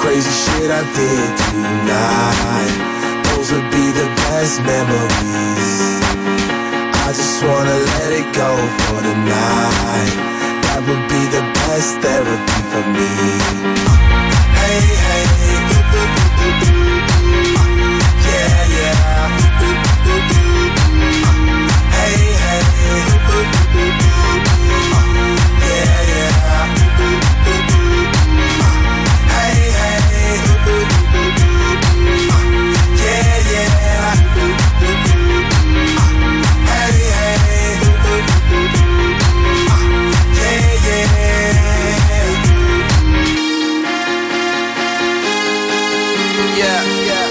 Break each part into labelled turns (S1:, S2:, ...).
S1: crazy shit I did tonight, those would be the best memories. I just wanna let it go for the night. That would be the best therapy for me. Hey, hey, yeah, yeah. Hey, hey, yeah, yeah. Hey, hey, yeah, yeah. Hey, hey, yeah, yeah. Yeah, yeah.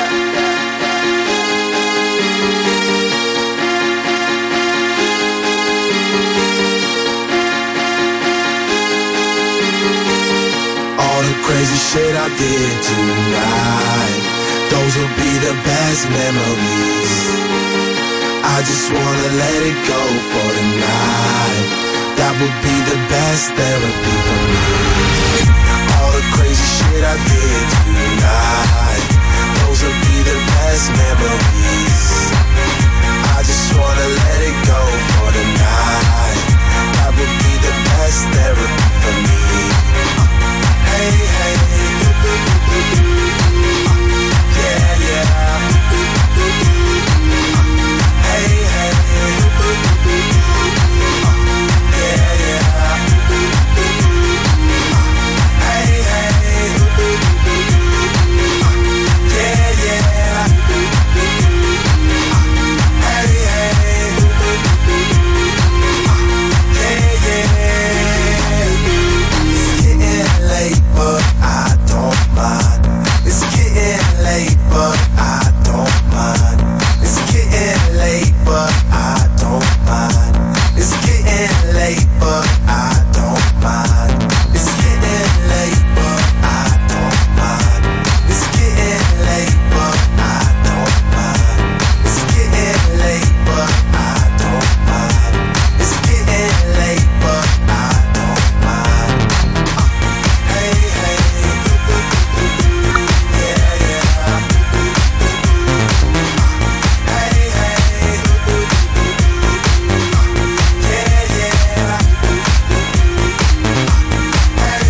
S1: All the crazy shit I did tonight, those will be the best memories. I just wanna let it go for the night. That would be the best therapy for me. All the crazy shit I did tonight, those will be the best memories. I just wanna let it go for the night. That would be the best therapy for me. Hey, hey, yeah, yeah. Hey, hey, yeah, yeah. Hey, hey, yeah, yeah. Hey, hey, yeah, yeah. It's getting late, but I don't mind. It's getting late, but I don't mind. It's getting late, but I don't mind. It's getting late, but I don't mind. It's getting late, but I don't mind. It's getting late, but I don't mind. It's getting late, but I don't mind. It's getting late, but I don't mind. Hey, hey, yeah, yeah. Hey, hey, yeah, yeah. Hey,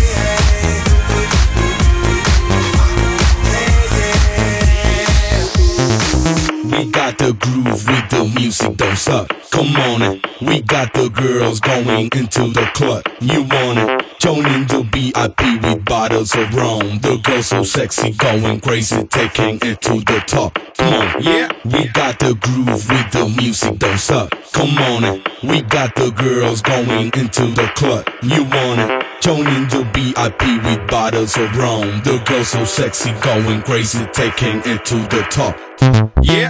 S1: hey,
S2: We got the groove with the music, don't suck. Come on it. We got the girls going into the club. You want it? Joining the VIP with bottles of rum. The girls so sexy, going crazy, taking it to the top. Come on, yeah. We got the groove with the music, don't suck. Come on it. We got the girls going into the club. You want it? Joining the VIP with bottles of rum. The girls so sexy, going crazy, taking it to the top. Yeah.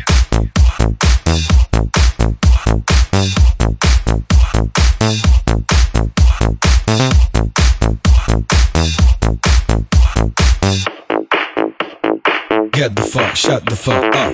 S2: Get the fuck, shut the fuck up.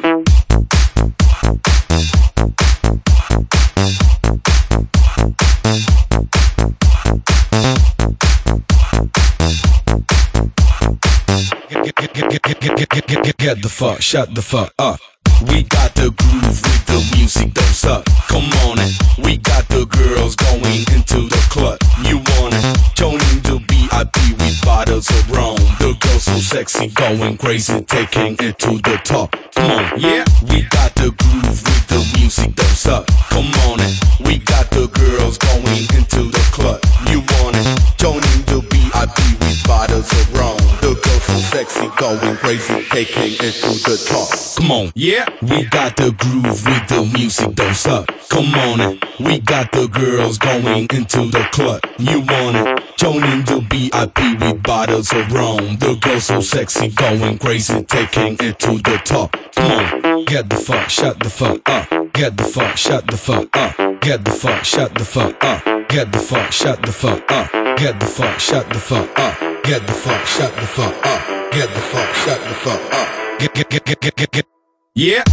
S2: Get the fuck, shut the fuck up. We got the groove with the music, don't suck. Come on it. We got the girls going into the club. You want it? Joining the VIP with bottles of rum. The girls so sexy, going crazy, taking it to the top. Come on, yeah. We got the groove with the music, don't suck. Come on it. We got the girls going into the club. You want it? Joining the VIP with bottles of rum. The girls so sexy, going crazy, taking it to the top. Come on, yeah. We got the groove with the music, don't suck. Come on it. We got the girls going into the club. You want it? Joining the VIP with bottles of rum. The girls so sexy, going crazy, taking it to the top. Come on, get the fuck, shut the fuck up. Get the fuck, shut the fuck up. Get the fuck, shut the fuck up. Get the fuck, shut the fuck up. Get the fuck, shut the fuck up. Get the fuck, shut the fuck up. Get the fuck, shut the fuck up. Get. Yeah.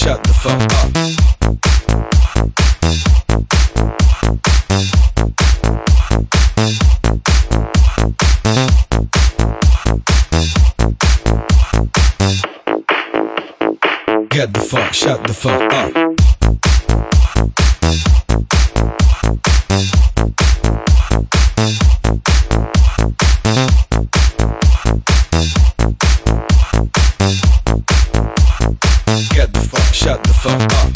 S2: shut the fuck up. Get the fuck, shut the fuck up. Get the fuck, shut the fuck up.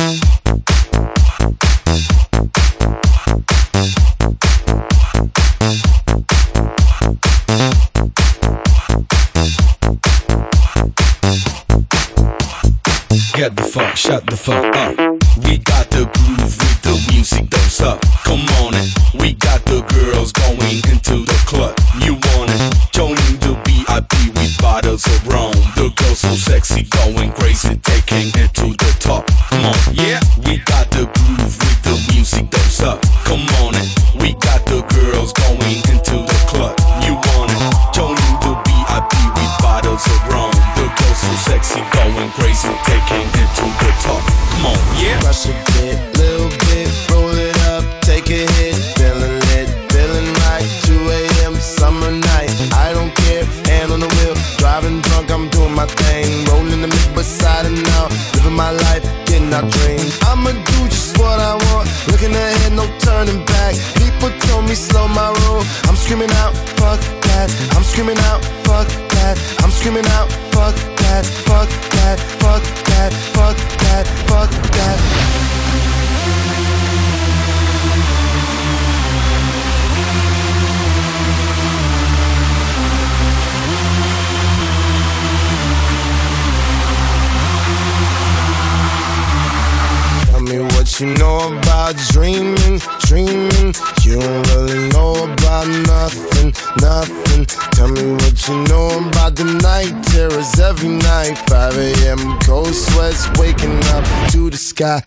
S2: Get the fuck, shut the fuck up. We got the groove with the music, don't suck. Come on it. We got the girls going into the club. You want it? Joining the VIP with bottles of rum. The girls so sexy, going crazy, taking it to the top. Come on, yeah. We got the groove with the music, don't suck. Come on it. We got the girls going into the club. You want it? Joining the VIP with bottles of rum. The girls so sexy, going crazy, taking it to the top. Come on, yeah.
S1: Rush a bit, little bit, roll it up, take a hit, feeling lit, feeling right. 2 a.m. summer night, I don't care, hand on the wheel, driving drunk, I'm doing my thing, rolling the mid beside and out, living my life, getting our dreams. I'ma do just what I want, looking ahead, no turning back. People told me slow my roll, I'm screaming out, fuck that. I'm screaming out, fuck that. I'm screaming out, fuck that, fuck that, fuck that, fuck that, fuck that. Tell me what you know about dreaming, dreaming. You don't really know about nothing, nothing. Tell me what you know about the night terrors every night. 5 a.m. cold sweats waking up to the sky.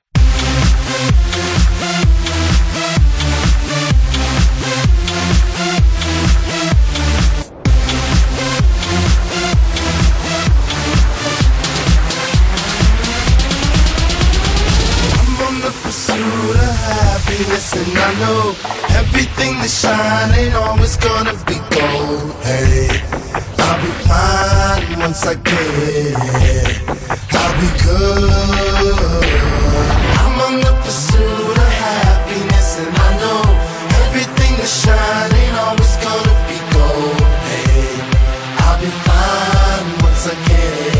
S1: Pursuit of happiness, and I know everything that shine ain't always gonna be gold. Hey, I'll be fine once I get it. I'll be good. I'm on the pursuit of happiness, and I know everything that shine ain't always gonna be gold. Hey, I'll be fine once I get it.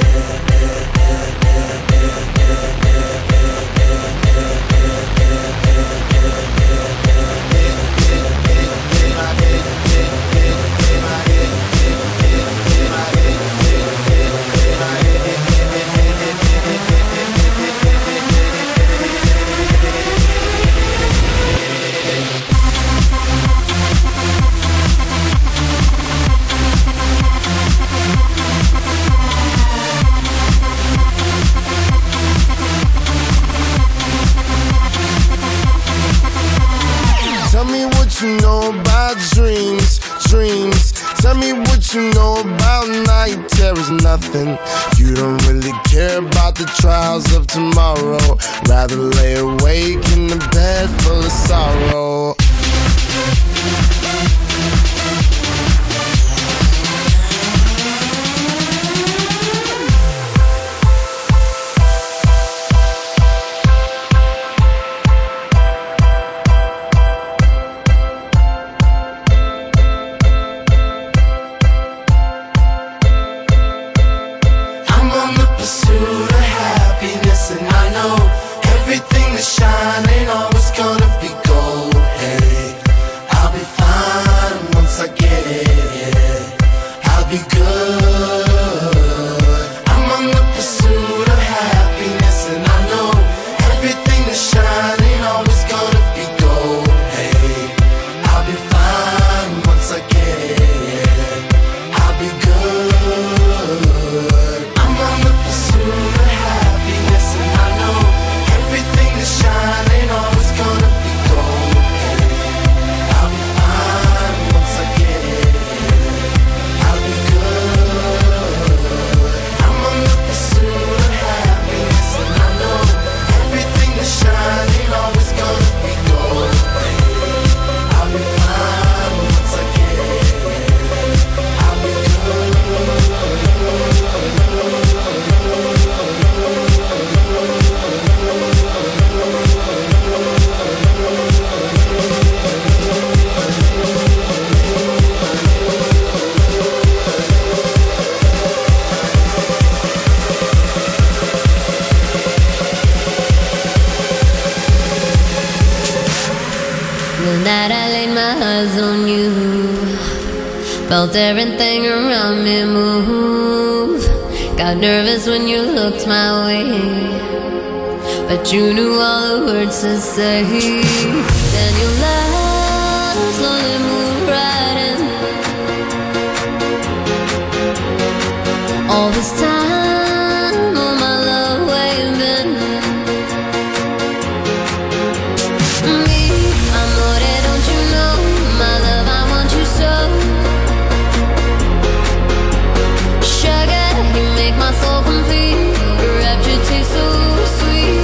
S1: Tell me what you know about dreams, dreams. Tell me what you know about night terrors, nothing. You don't really care about the trials of tomorrow. Rather lay awake in the bed full of sorrow. Pursuit of happiness, and I know everything that shine ain't always gonna be gold. Hey, I'll be fine once I get it. I'll be good. I'm on the pursuit of happiness, and I know everything that shine ain't always gonna be gold. Hey, I'll be fine once I get it. I'll be good. I'm on the pursuit of happiness, and I know everything that shine ain't
S3: Felt everything around me move. Got nervous when you looked my way, but you knew all the words to say. Then you laughed, slowly moved right in. All this time, oh my love, where you been? Me, amore, don't you know? My love, I want you so. Sugar, you make my soul complete. Your rapture tastes so sweet.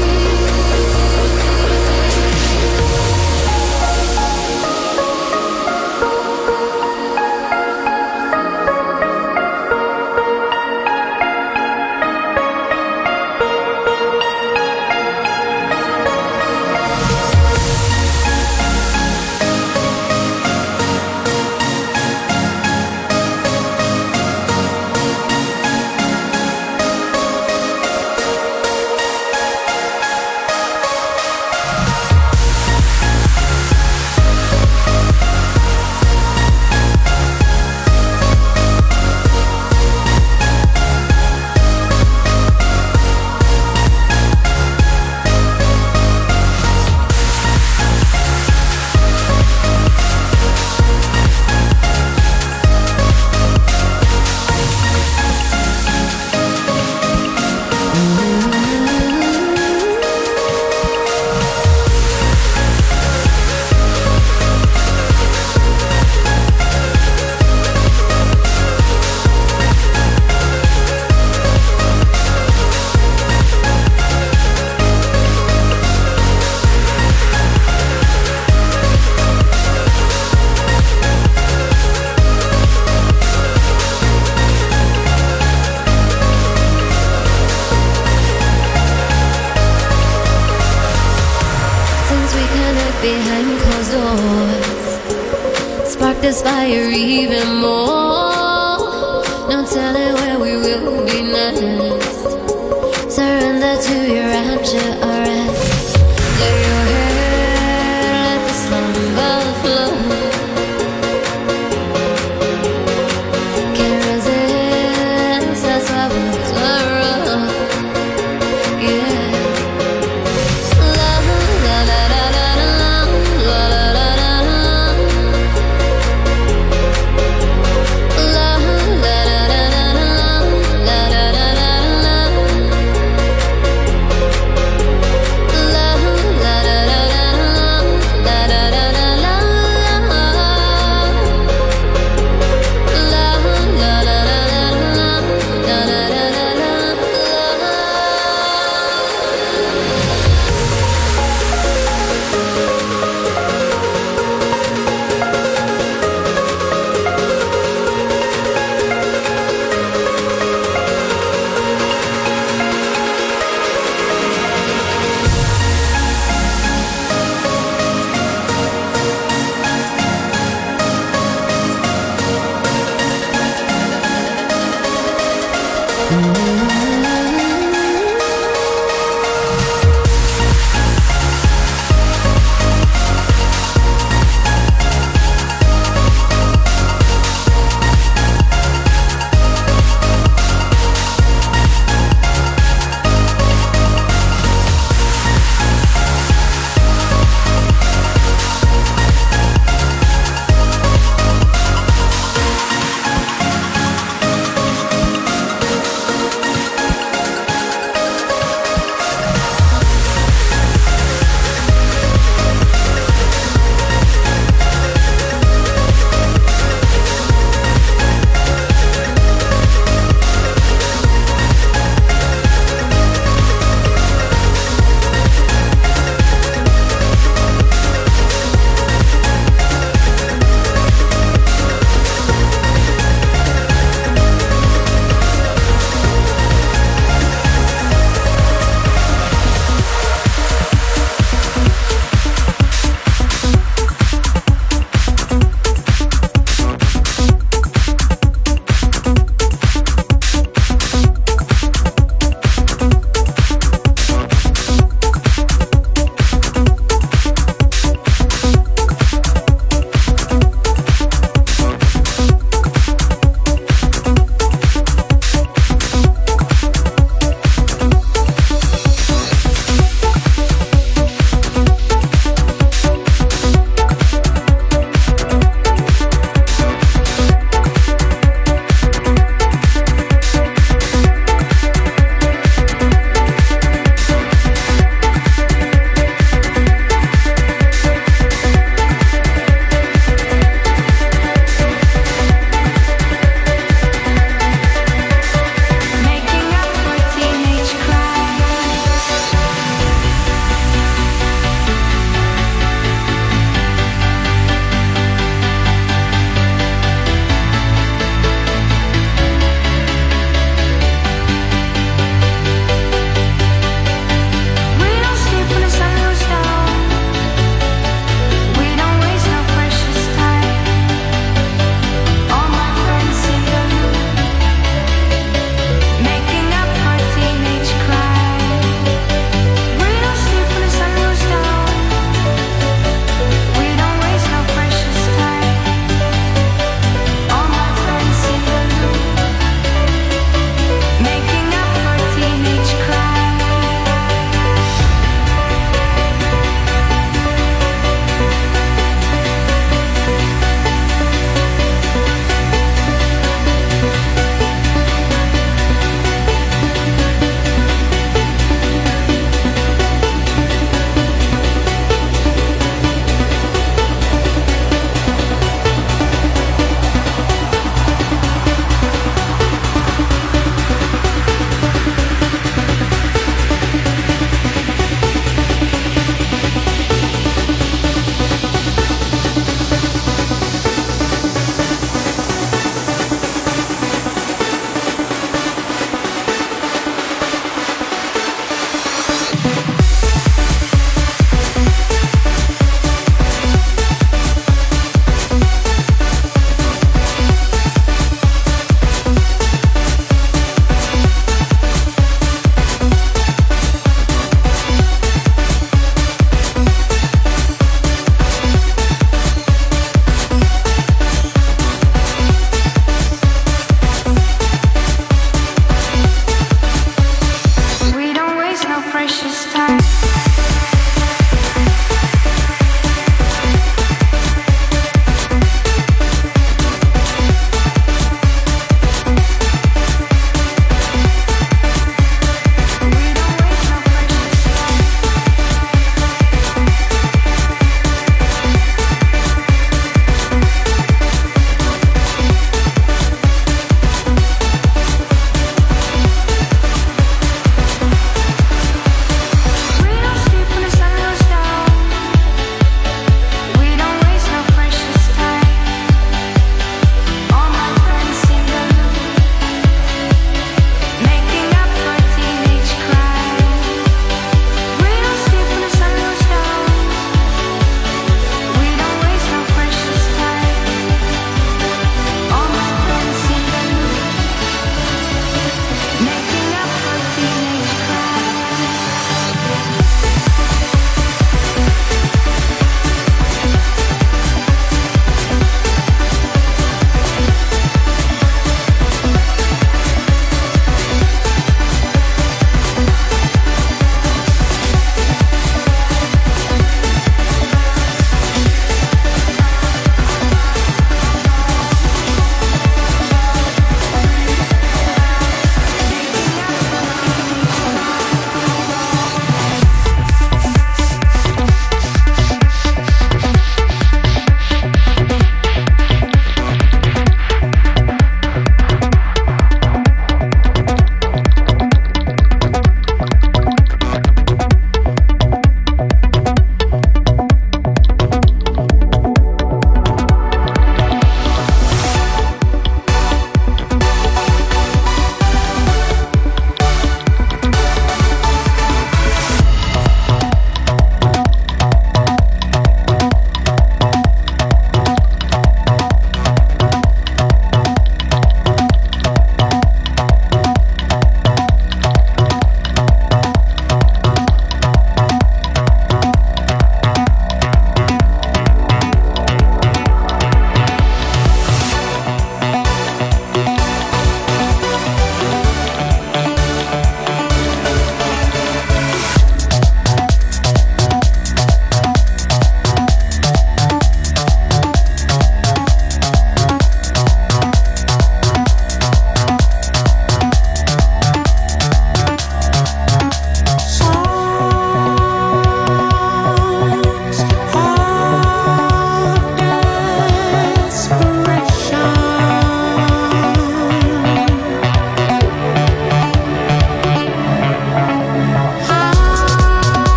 S3: Behind closed doors, spark this fire even more. No telling where we will be next. Surrender to your rapture, alright. Lay your head, let the slumber flow. Can't resist, that's why we're thorough. Yeah.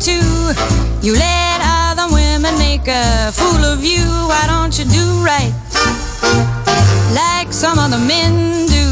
S4: too. You let other women make a fool of you. Why don't you do right like some other men do?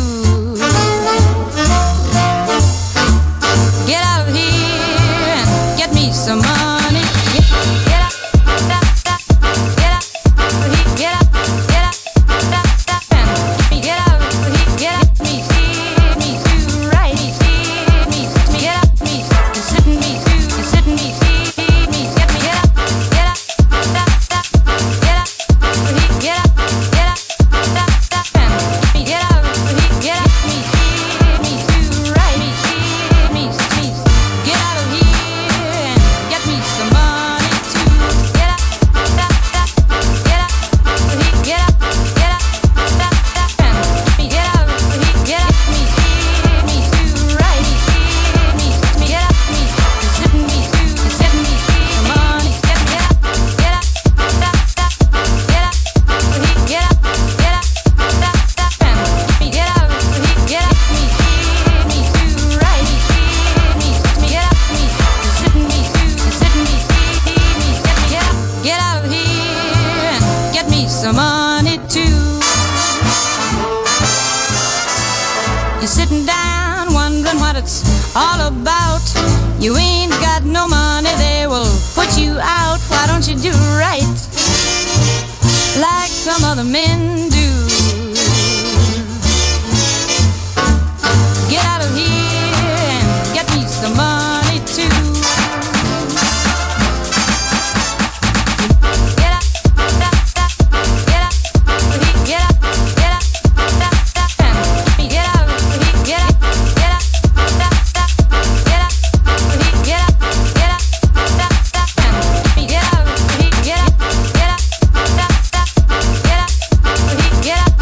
S4: Get out of here and get me some money. Get out, get out, get out, get out, get out, get out, get me, me too right. Me, get out, me, you're sitting me too, you're sitting me, get me, get out, get out, get out, get out, get out, me, get out, get out, me too right. Me, get out of here and get me some money too. Get out, get out, get out, get out, me, get out, get me too right. Me, get out, me, you're sitting me too, you're sitting me some money. Get out, get out, get out, get out, get out, me, get out, get me too right. Me, get out, me, you're sitting me too, you're sitting me, get out of here and get me some money too. You're sitting down wondering what it's all about. You ain't got no money, they will put you out. Why don't you do right like some other men do? Get out of here and get me some money too. Get out, get out, get out, get out, get out, me, get out, get out, get out, get out, get out, get out, me, get out, get out, get out, get out, get out,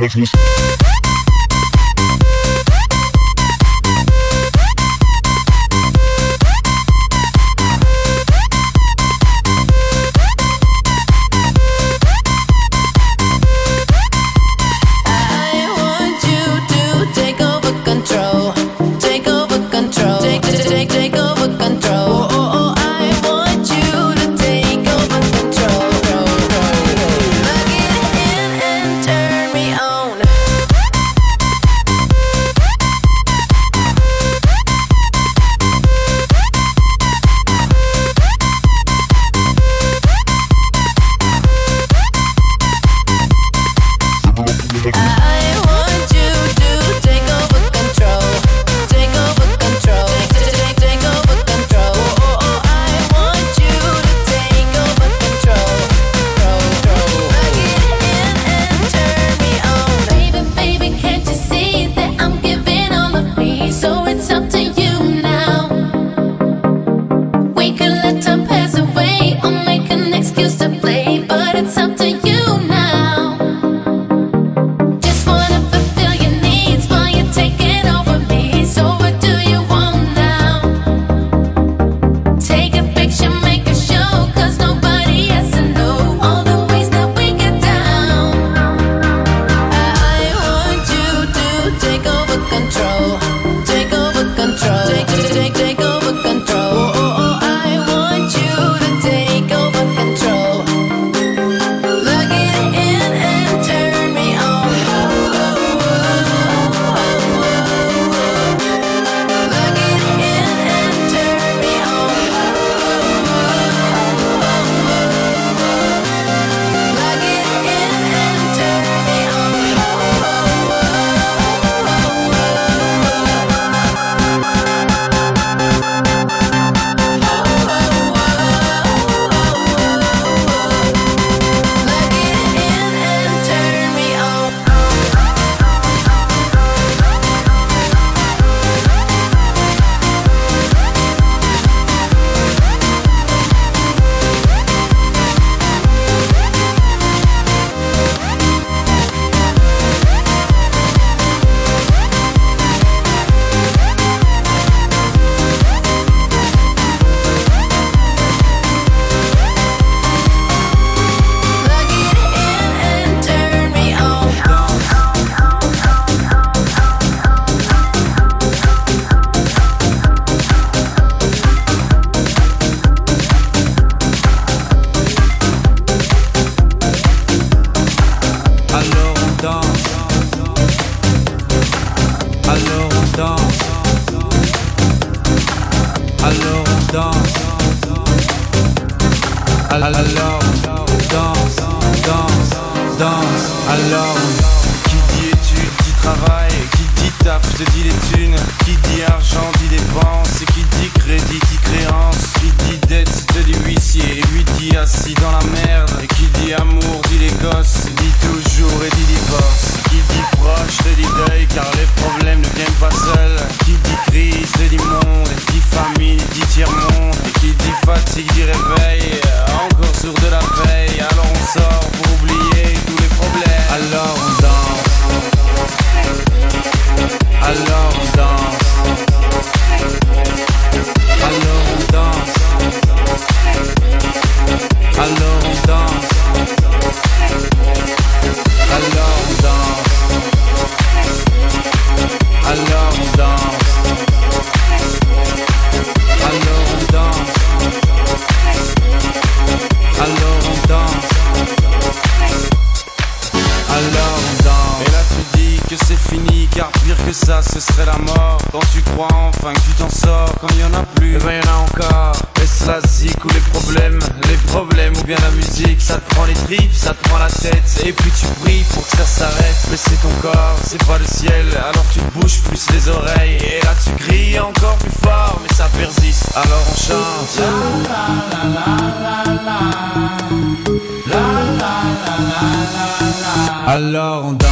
S5: Alors on danse.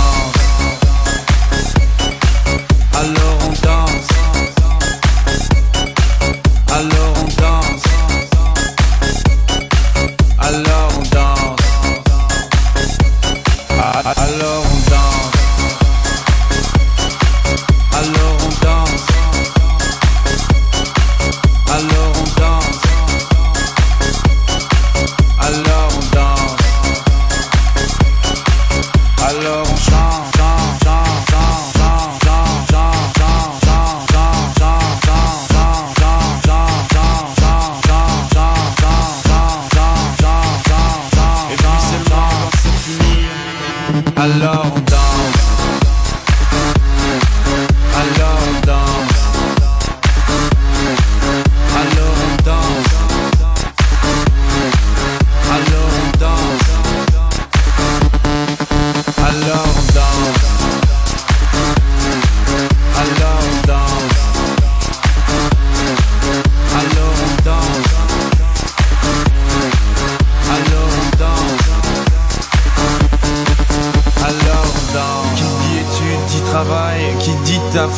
S5: Alors on danse. Alors on danse. Alors on danse. Alors on danse.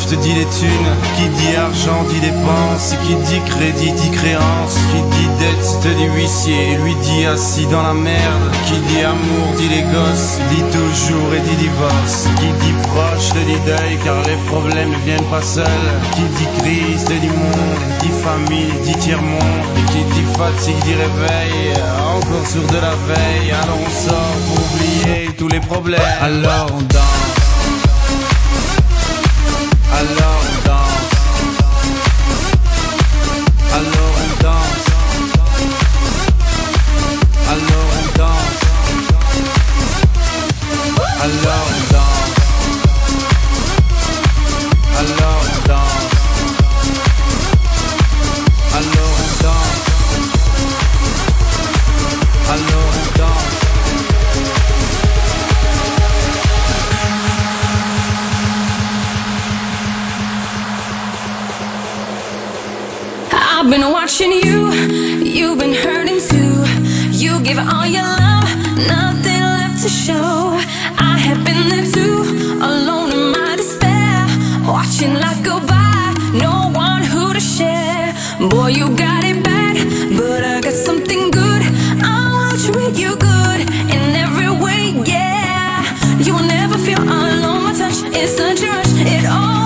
S5: je te dis les thunes. Qui dit argent dit dépense. Qui dit crédit dit créance. Qui dit dette te dit huissier. Lui dit assis dans la merde. Qui dit amour dit les gosses. Dit toujours et dit divorce. Qui dit proche te dit deuil car les problèmes ne viennent pas seuls. Qui dit crise te dit monde. Dit famille dit tiers-monde. Et qui dit fatigue dit réveil. Encore sur de la veille. Alors on sort pour oublier tous les problèmes. Alors on danse. Alors on danse. Alors on danse. Alors on danse. Alors on danse. Alors on danse. Alors on danse. Alors on danse.
S6: I've been watching you, you've been hurting too. You give all your love, nothing left to show. I have been there too, alone in my despair. Watching life go by, no one who to share. Boy, you got it bad, but I got something good. I'll treat you good in every way, yeah. You will never feel alone, my touch is such a rush, it all.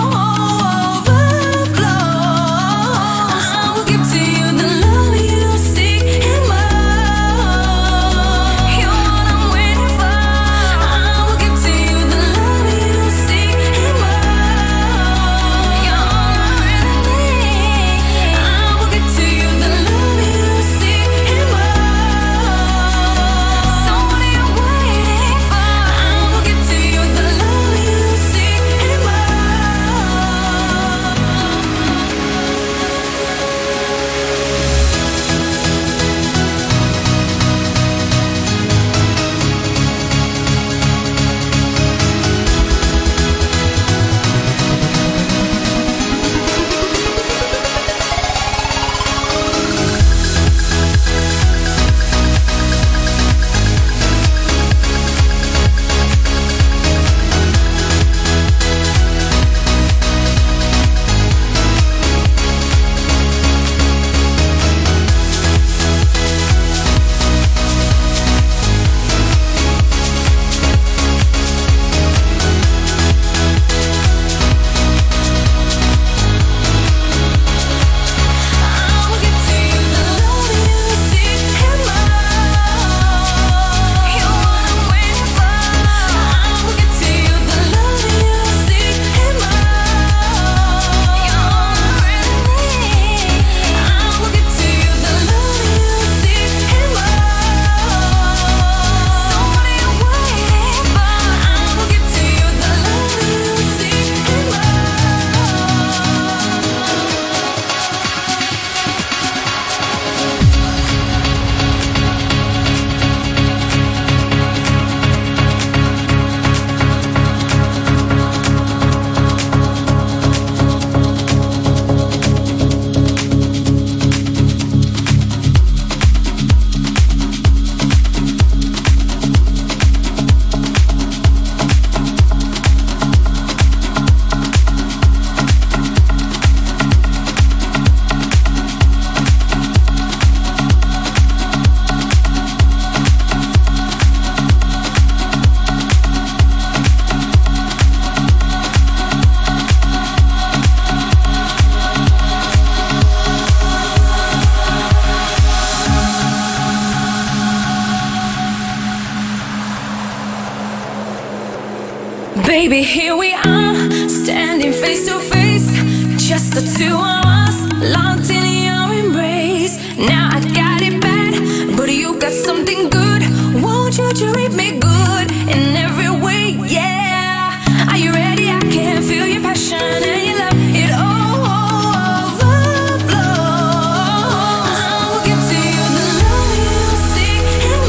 S6: Baby, here we are, standing face to face. Just the two of us, locked in your embrace. Now I got it bad, but you got something good. Won't you treat me good in every way, yeah. Are you ready? I can feel your passion and your love. It all overflows. I will give to you the love you seek and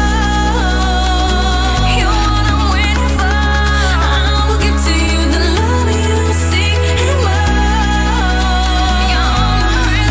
S6: more. You're what I'm waiting for. I will give to you the love you seek and more. You're all I'm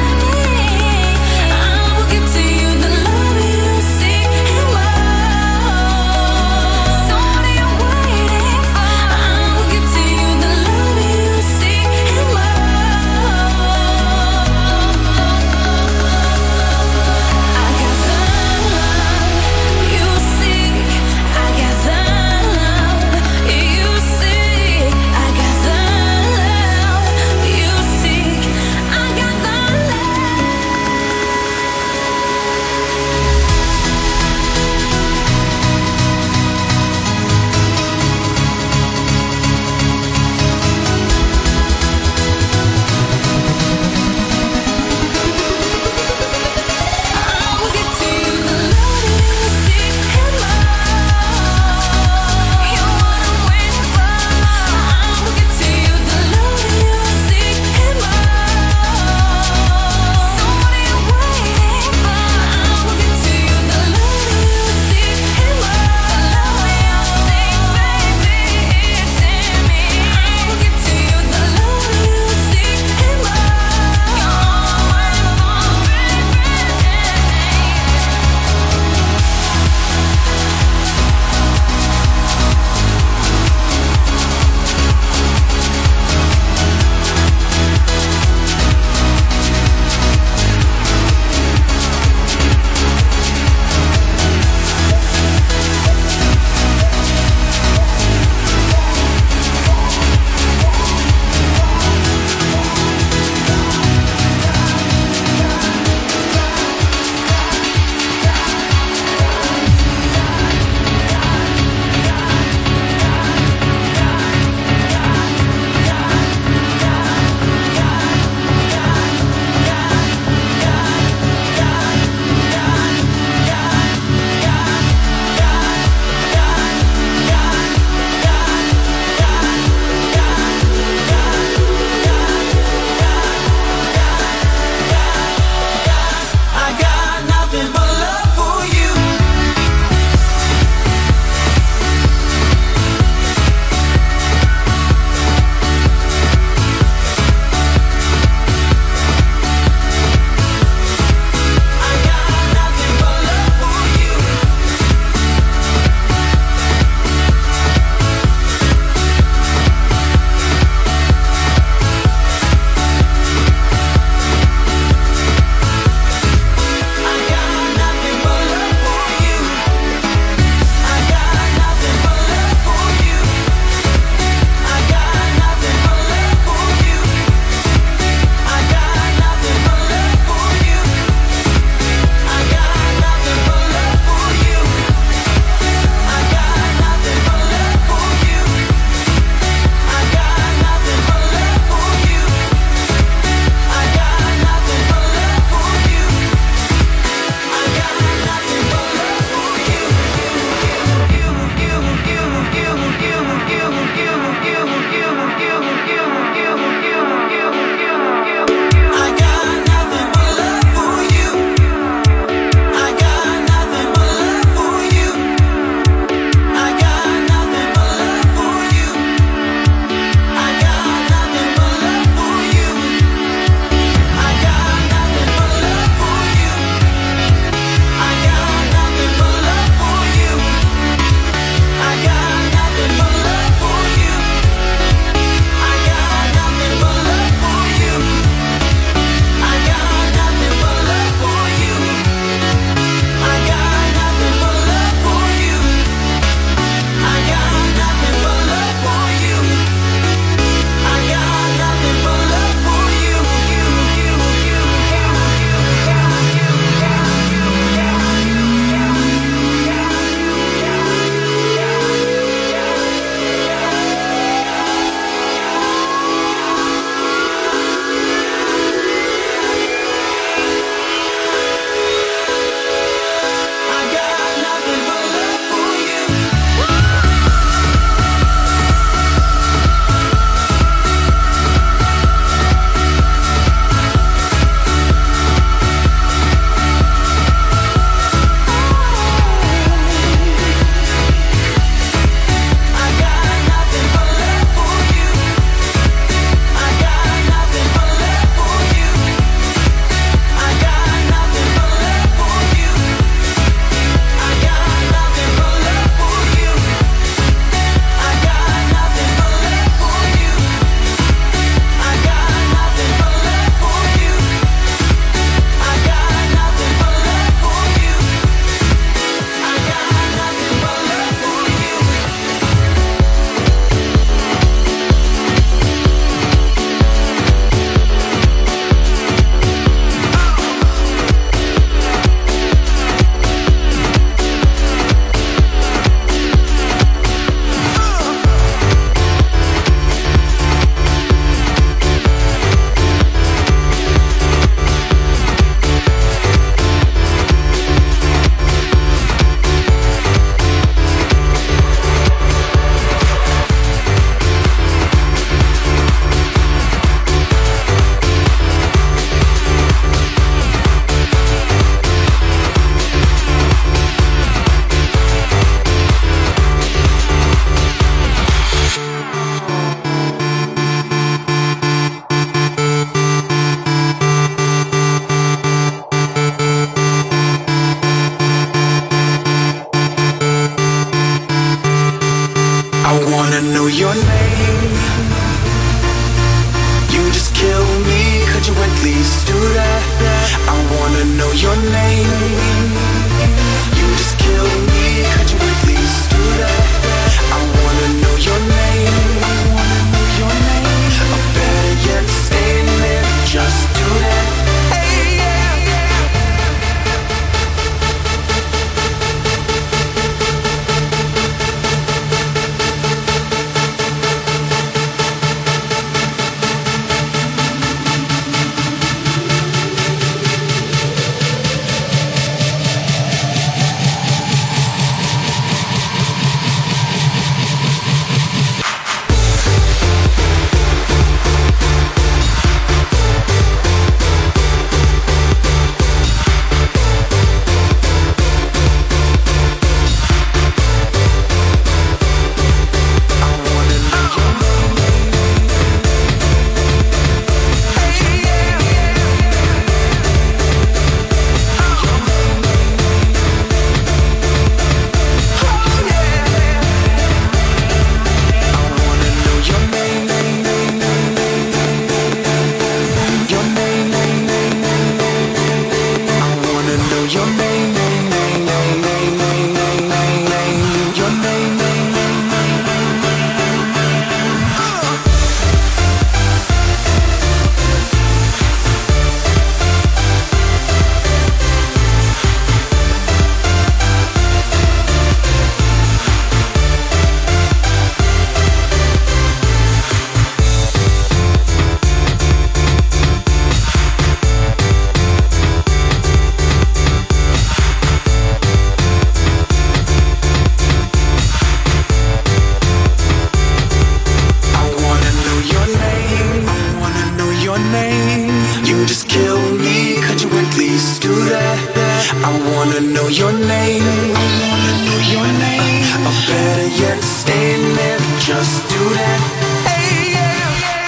S1: do that. I wanna know your name. Or better yet, stay there, just do that. Hey, yeah.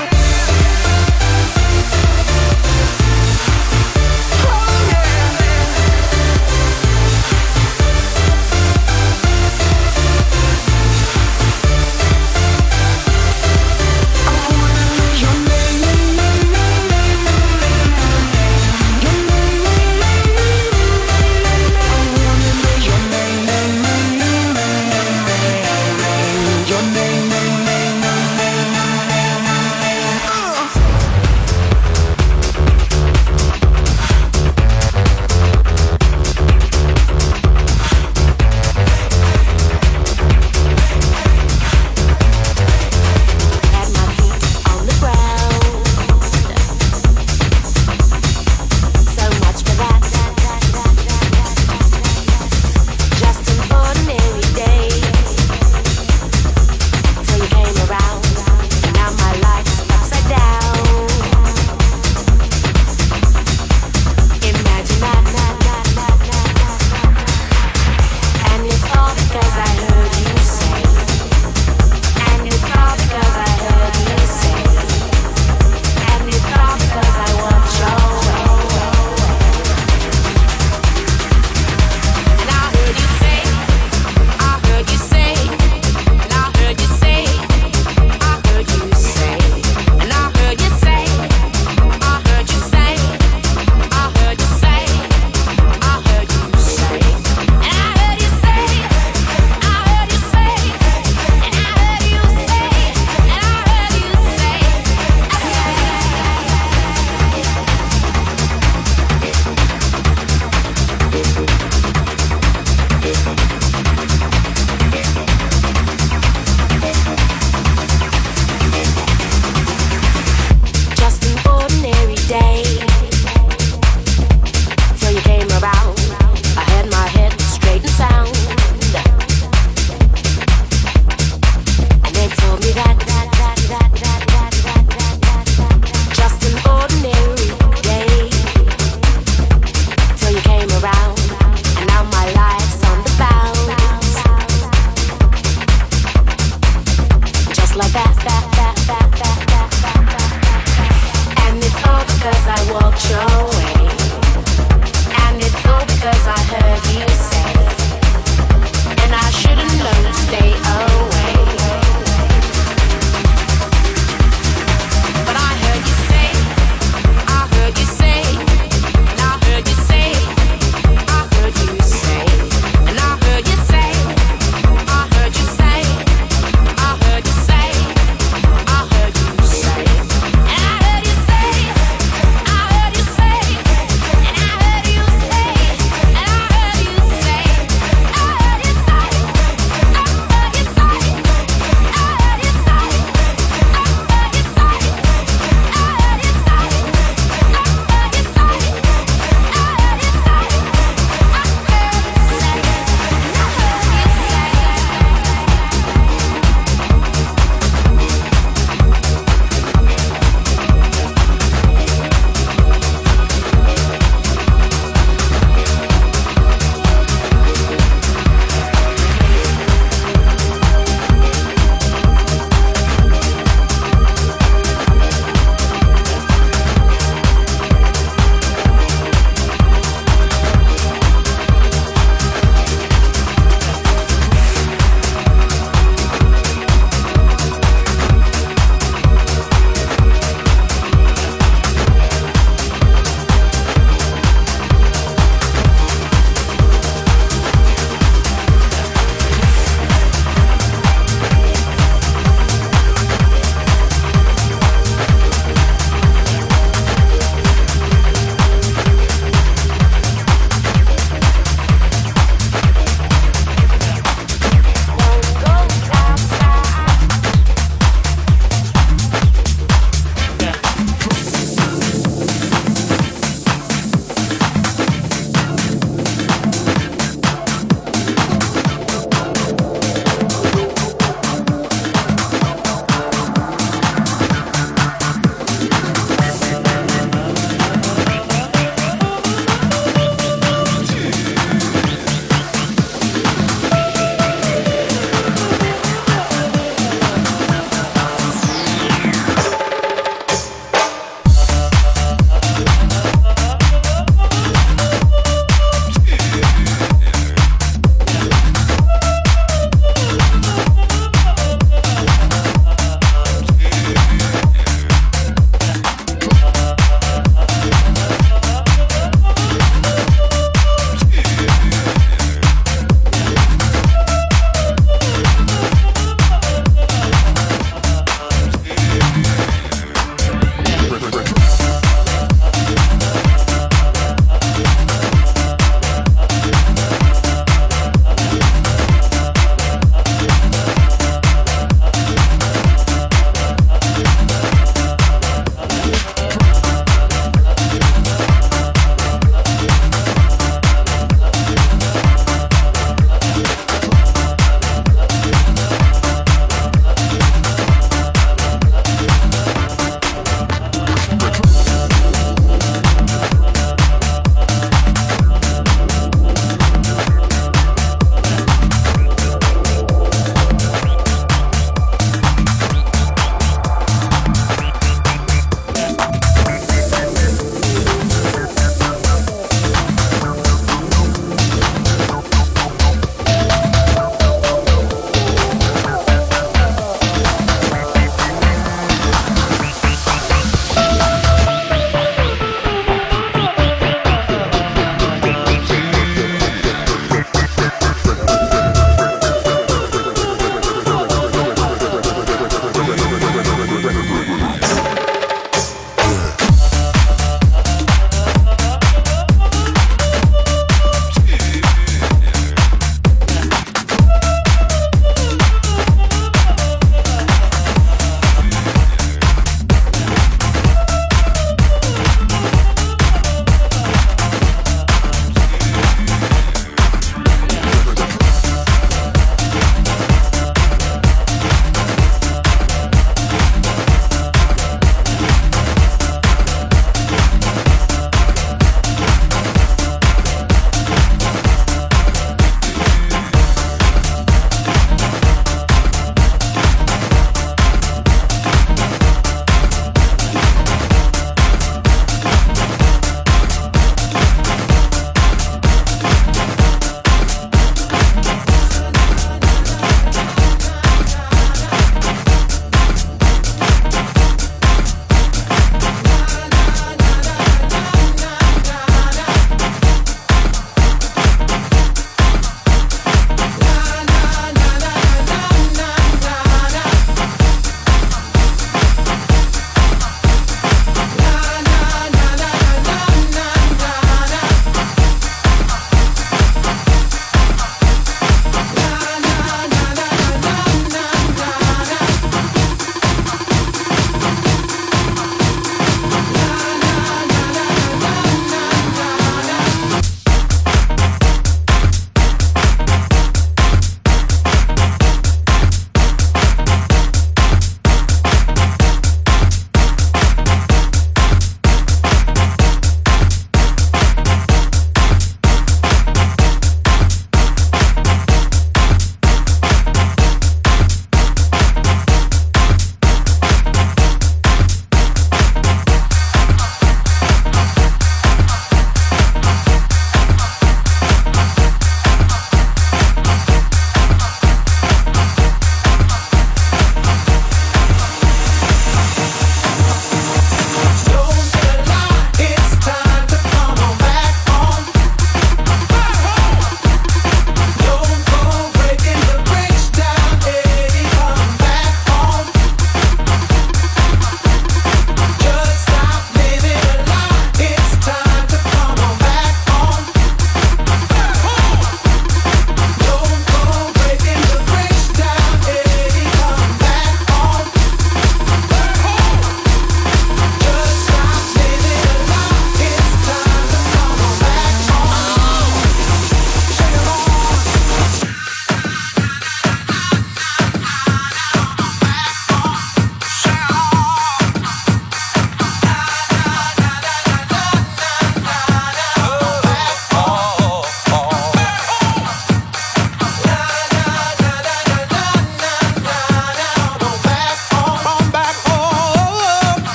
S1: Oh, yeah. I wanna know your name. Your name. I wanna know your name. Your name.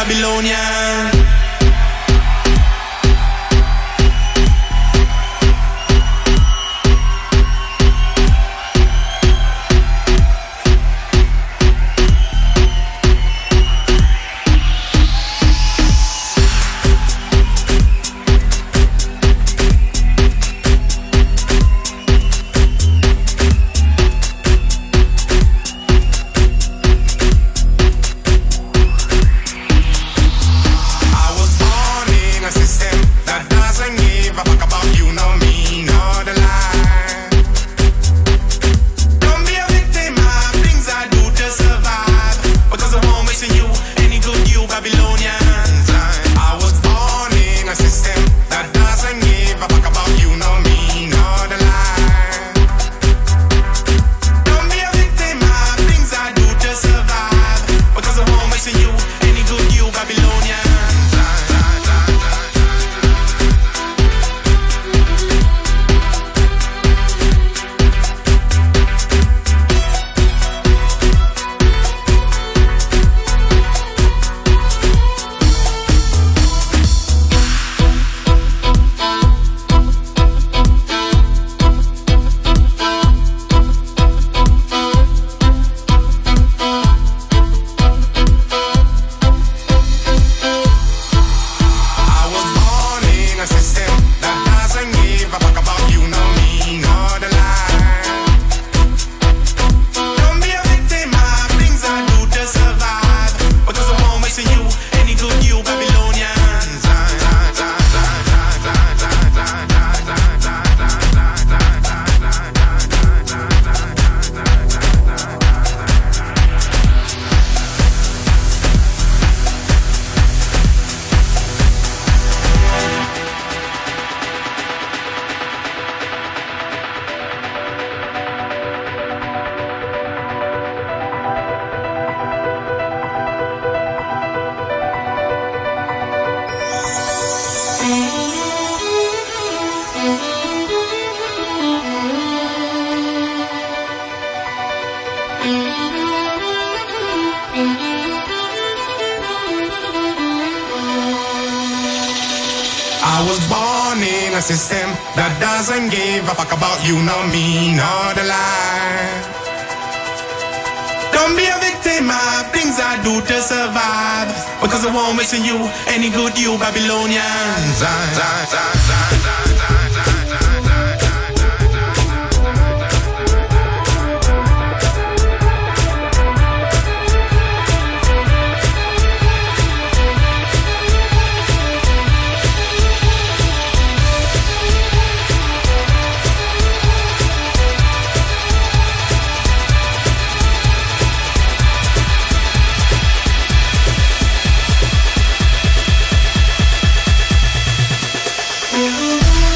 S1: Babylonian.
S7: I was born in a system that doesn't give a fuck about you, nor me, nor the lie. Don't be a victim of things I do to survive, because I won't wish you any good, you Babylonians.
S1: Mm-hmm.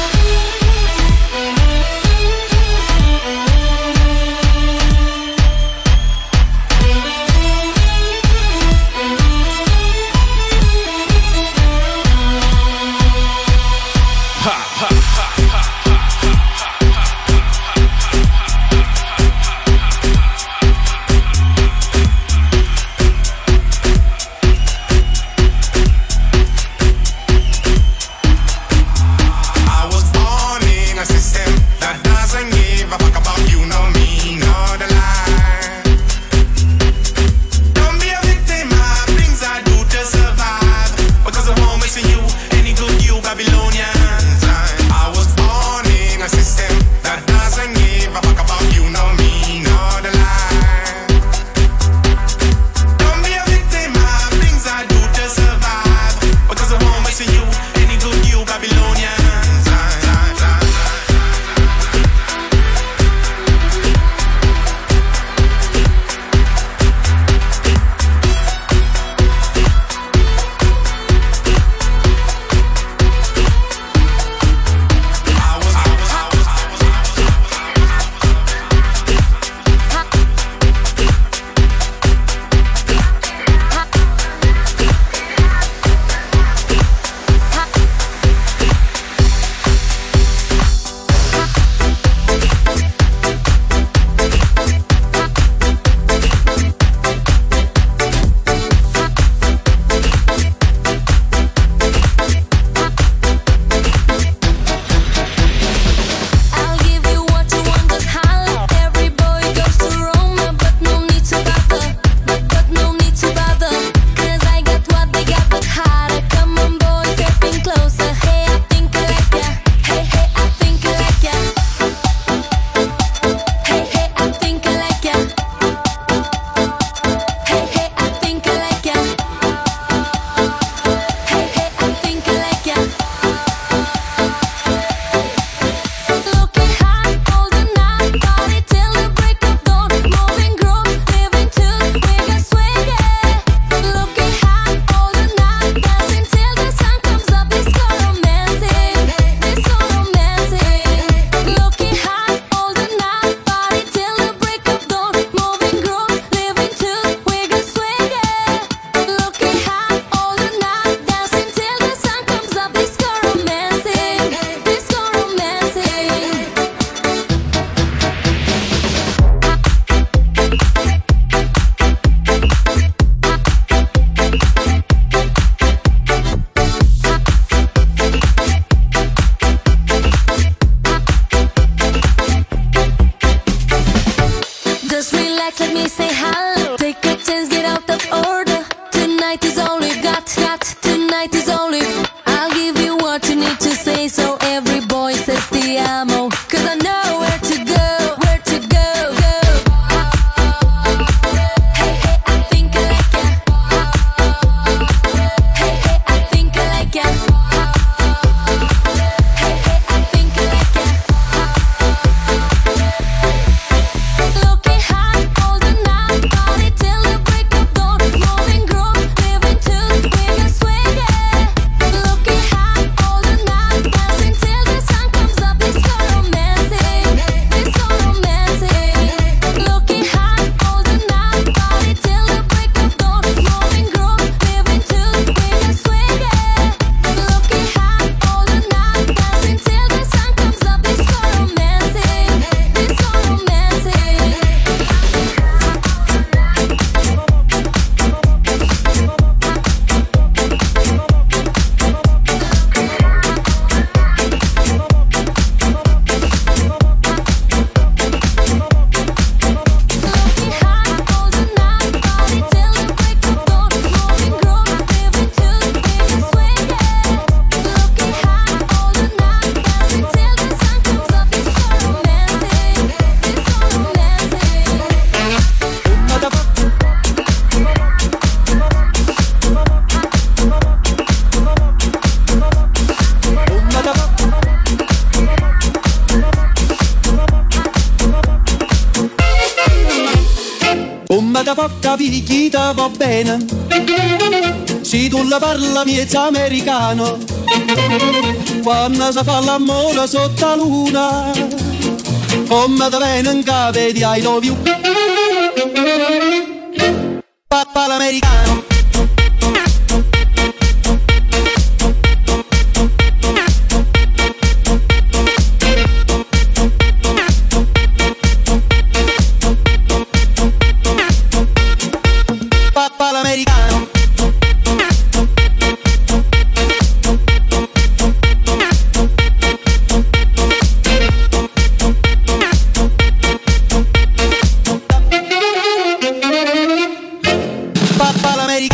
S3: me say hello. Take a chance, get out of order. Tonight is all we got. Tonight is all we. I'll give you what you need to say, so every boy says ti amo. 'Cause I know where to go. Hey, hey, I think I like ya. Hey, hey, I think I like ya. Hey, hey, I think I like ya. Looking hot all the night, party till the break of dawn. Moving groove, living to with your swing, yeah. Looking hot all the night, dancing till the sun comes up. It's so romantic, it's so romantic. Looking hot all the night, party till the break of dawn. Moving groove, living to with your swing, yeah. Looking hot all the night, dancing till the sun comes up. It's so romantic, it's so romantic. Looking hot all the night, party till the break of dawn. Moving groove, living to with your swing, yeah. Looking hot all the night, dancing till the sun comes up. It's so romantic, it's so romantic.
S8: Come da porta picchita va bene, se tu la parla miezza americano, quando si fa l'amore sotto la luna, come da bene in capo di I love you, papà l'americano. Papà l'americano. Papà l'americano.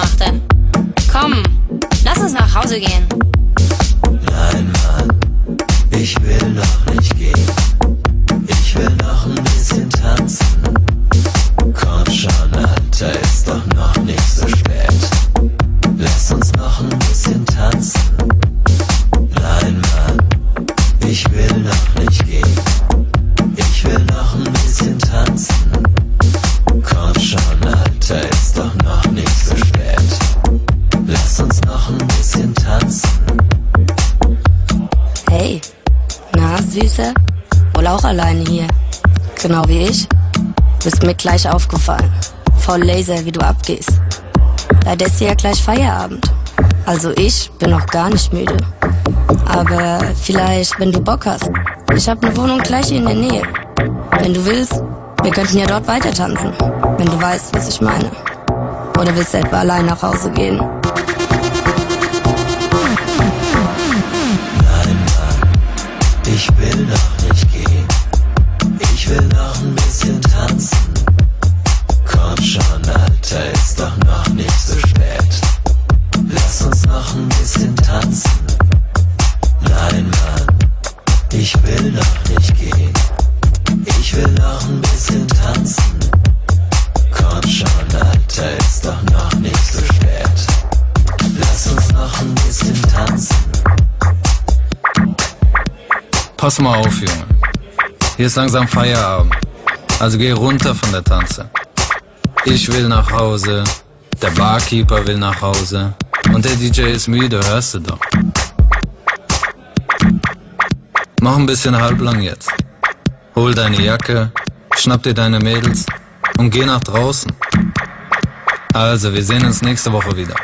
S4: machte. Komm, lass uns nach Hause gehen.
S1: Nein, Mann, ich will noch nicht gehen. Ich will noch ein bisschen tanzen. Komm schon, Alter, ist doch noch nicht so spät. Lass uns noch ein bisschen tanzen. Nein, Mann, ich will noch nicht gehen. Ich will noch ein bisschen tanzen. Komm schon, Alter, ist doch noch nicht so spät. Lass uns noch ein bisschen tanzen.
S9: Hey, na, Süße? Wohl auch alleine hier. Genau wie ich. Bist mir gleich aufgefallen. Voll laser, wie du abgehst. Leider ist ja gleich Feierabend. Also ich bin noch gar nicht müde. Aber vielleicht, wenn du Bock hast. Ich hab ne Wohnung gleich hier in der Nähe. Wenn du willst, wir könnten ja dort weiter tanzen. Wenn du weißt, was ich meine. Oder willst du etwa allein nach Hause gehen?
S1: Nein, Mann, ich will noch nicht gehen. Ich will noch ein bisschen tanzen. Komm schon, Alter, ist doch noch nicht so spät. Lass uns noch ein bisschen tanzen. Nein, Mann, ich will noch nicht gehen. Ich will noch ein bisschen tanzen. Komm schon, Alter, ist doch noch nicht so spät. Lass uns noch ein bisschen tanzen.
S10: Pass mal auf, Junge. Hier ist langsam Feierabend. Also geh runter von der Tanze. Ich will nach Hause, der Barkeeper will nach Hause und der DJ ist müde, hörst du doch. Mach ein bisschen halblang jetzt. Hol deine Jacke, schnapp dir deine Mädels und geh nach draußen. Also, wir sehen uns nächste Woche wieder.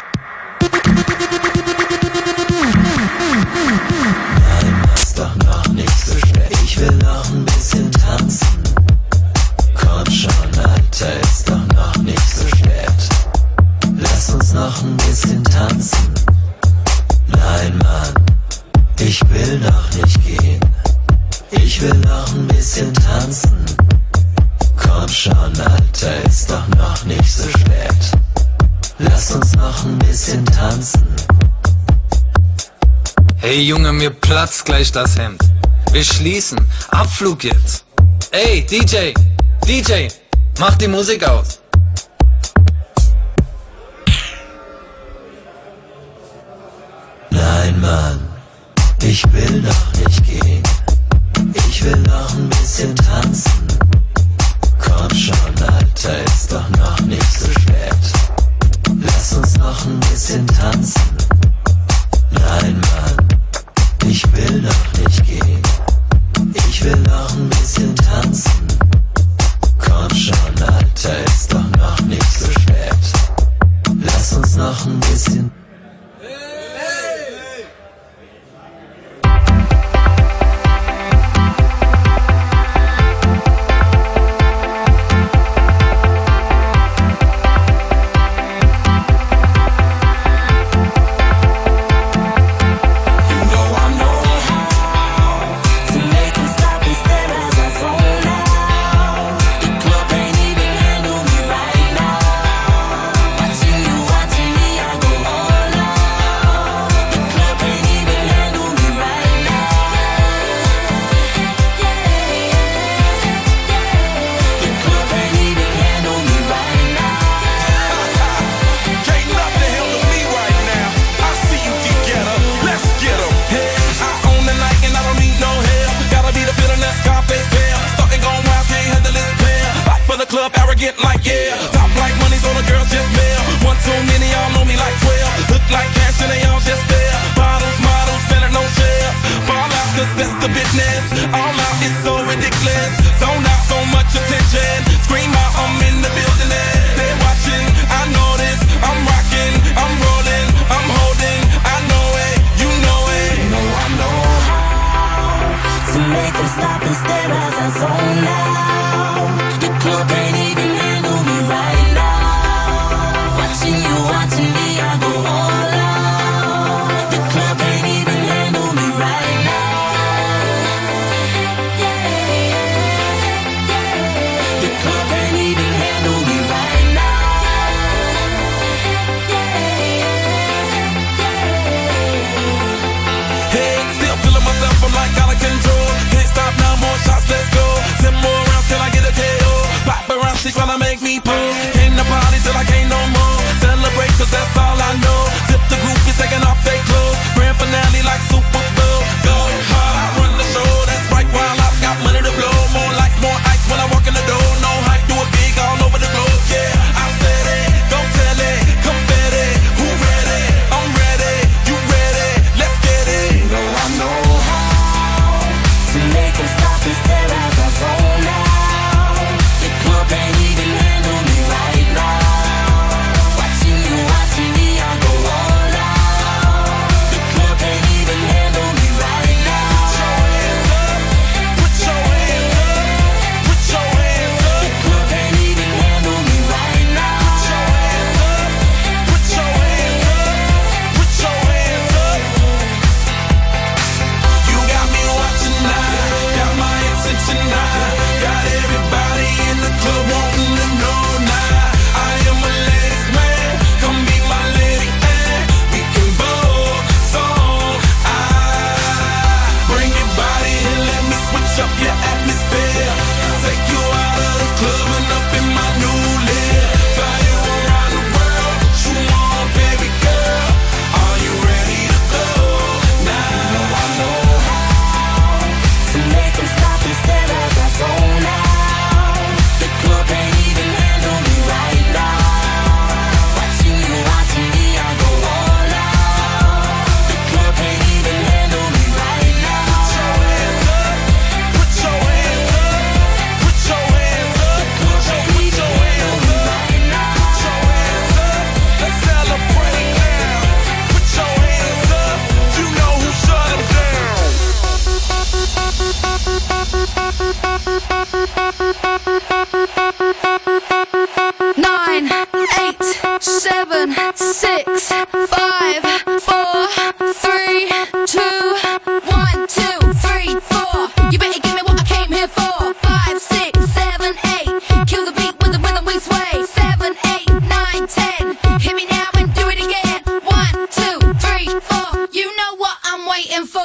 S1: Nein, ist doch noch nicht so spät. Ich will noch ein bisschen tanzen. Komm schon, Alter, ist doch noch nicht so spät. Lass uns noch ein bisschen tanzen. Nein, Mann, ich will noch nicht gehen. Ich will noch ein bisschen tanzen. Komm schon, Alter, ist doch noch nicht so spät. Lass uns noch ein bisschen tanzen.
S10: Hey Junge, mir platzt gleich das Hemd. Wir schließen. Abflug jetzt. Ey, DJ, mach die Musik aus.
S1: Nein, Mann, ich will noch nicht gehen. Ich will noch ein bisschen tanzen. Komm schon, Alter, ist doch noch nicht so spät. Lass uns noch ein bisschen tanzen. Nein, Mann, ich will noch nicht gehen. Ich will noch ein bisschen tanzen. Komm schon, Alter, ist doch noch nicht so spät. Lass uns noch ein bisschen.
S7: Club arrogant like yeah, top like money so the girls just mail. One too many, y'all know me like 12. Look like cash and they all just there. Bottles, models, selling no shares. Fall out cause that's the business. All out is so ridiculous. Zone out, so much attention. Scream out, I'm in the building and they're watching. I know this, I'm rocking, I'm rolling, I'm holding. I know it, you know it.
S6: You know I know how to make them stop and stare as I zone out. The club ain't even handle me right now. Watching you, watching me, I
S7: make me pull. Came to party till I can't no more. Celebrate cause that's all I know. Tip the groupies taking off their clothes. Grand finale like Super Bowl. Go hard, I run the show. That's right, while I've got money to blow. More lights, more ice when I walk in the door. No hype, do it big all over the globe. Yeah, I said it, don't tell it. Confetti, who ready? I'm ready, you ready? Let's get it.
S1: You know I know how to make them stop and stare as I zone out. The club can't even handle me right now. Watching me, I go all out. The club can't even handle me right now.
S7: Put your hands up, put your hands up.
S1: The club can't even handle me right now.
S7: Put your hands up, put your hands up. You got me watching now, got my attention now. Got everybody in the club wanting to know now. I am a ladies man, come be my lady and we can both song. Bring your body and let me switch up your atmosphere. Take you out of the club and up in my new live. Fly you around the world, what you want, baby girl? Are you ready to go now?
S1: I know how to make them stop and stare as I zone out. The club can't even handle me right now. Watching me, I go all out. The club can't even handle me right now.
S7: Put your hands up, put your hands up.
S1: The club can't even handle me right now.
S7: Let's celebrate now. Put your hands up. You know who shut them down.
S3: 9, 8, 7, 6, 5, 4, 3, 2, 1, 2, 3, 4. You better give me what I came here for. 5, 6, 7, 8. Kill the beat with the rhythm we sway. 7, 8, 9, 10. Hit me now and do it again. 1, 2, 3, 4. You know what I'm waiting for.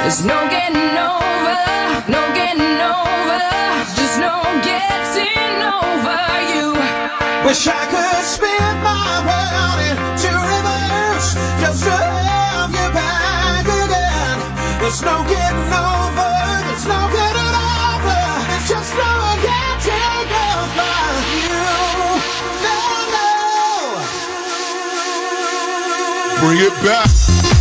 S6: There's no getting over, no getting over, just no getting over you.
S1: Wish I could spin my world into reverse, just to have you back again. There's no getting over, there's no getting over, it's just no getting over you. No, no.
S11: Bring it back.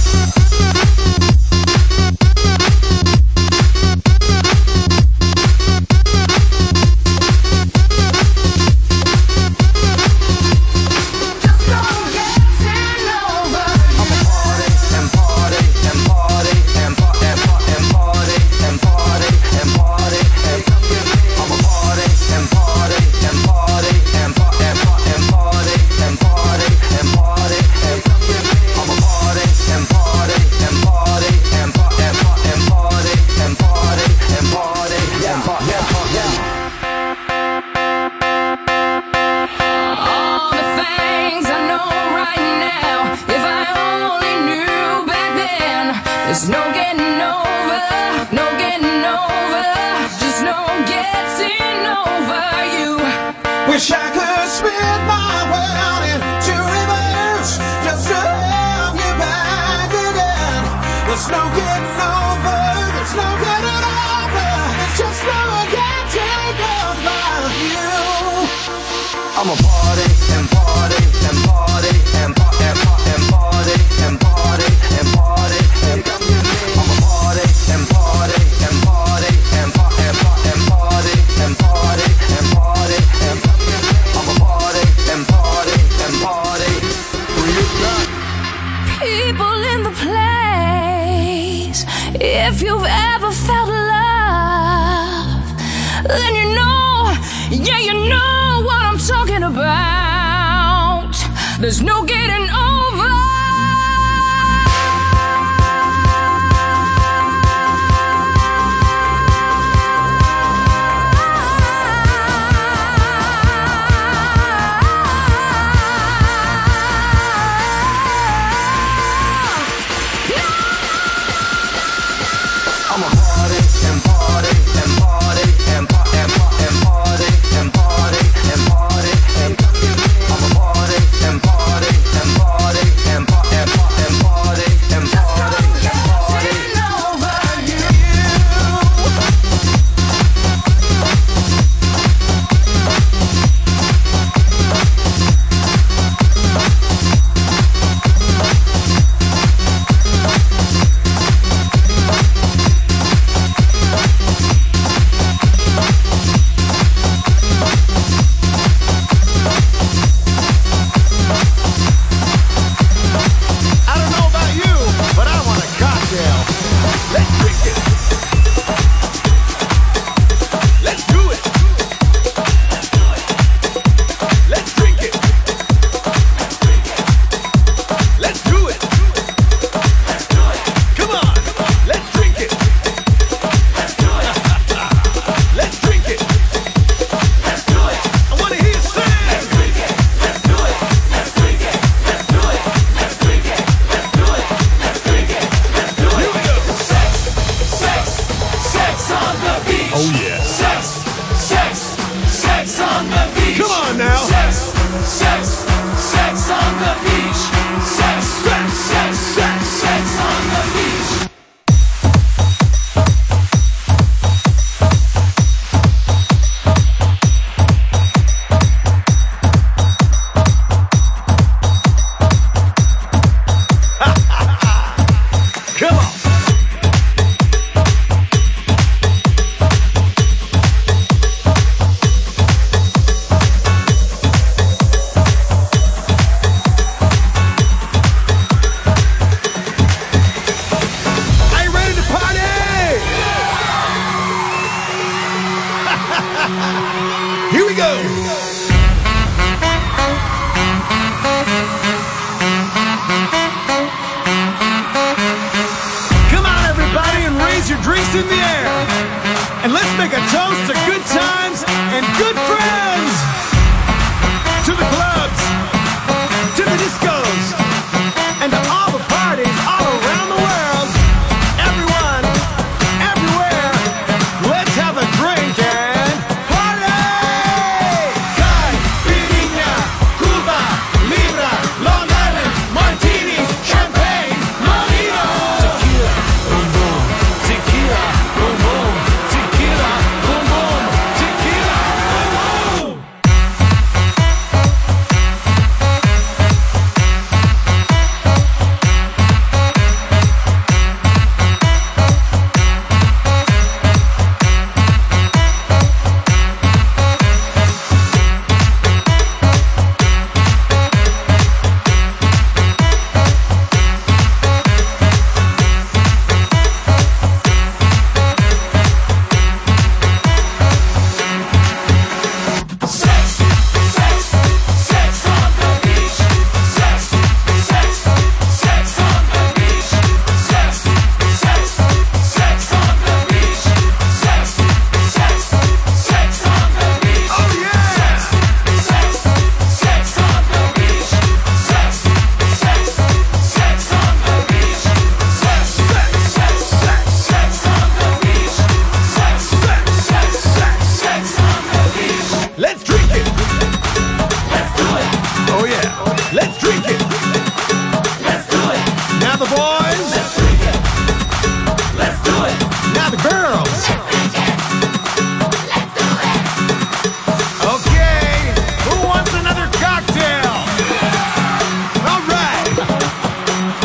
S6: There's no getting over, no getting over, just no getting over you.
S1: Wish I could spin my world into reverse, just to have you back again. There's no getting over, there's no getting over, it's just no getting over you.
S12: I'm a party and party and party and party and party and party and party and party and I'm a party and party and party and party and party and party and party and party and I'm a party and party and party.
S6: People in the place, if you've ever felt love, then you know, yeah, you know what I'm talking about. There's no getting over.
S12: I'm a party and party and party and party and party and party and party and party and I'm a party and party and party and party and party and party and party and party over
S1: and to all the parties all around the world. Everyone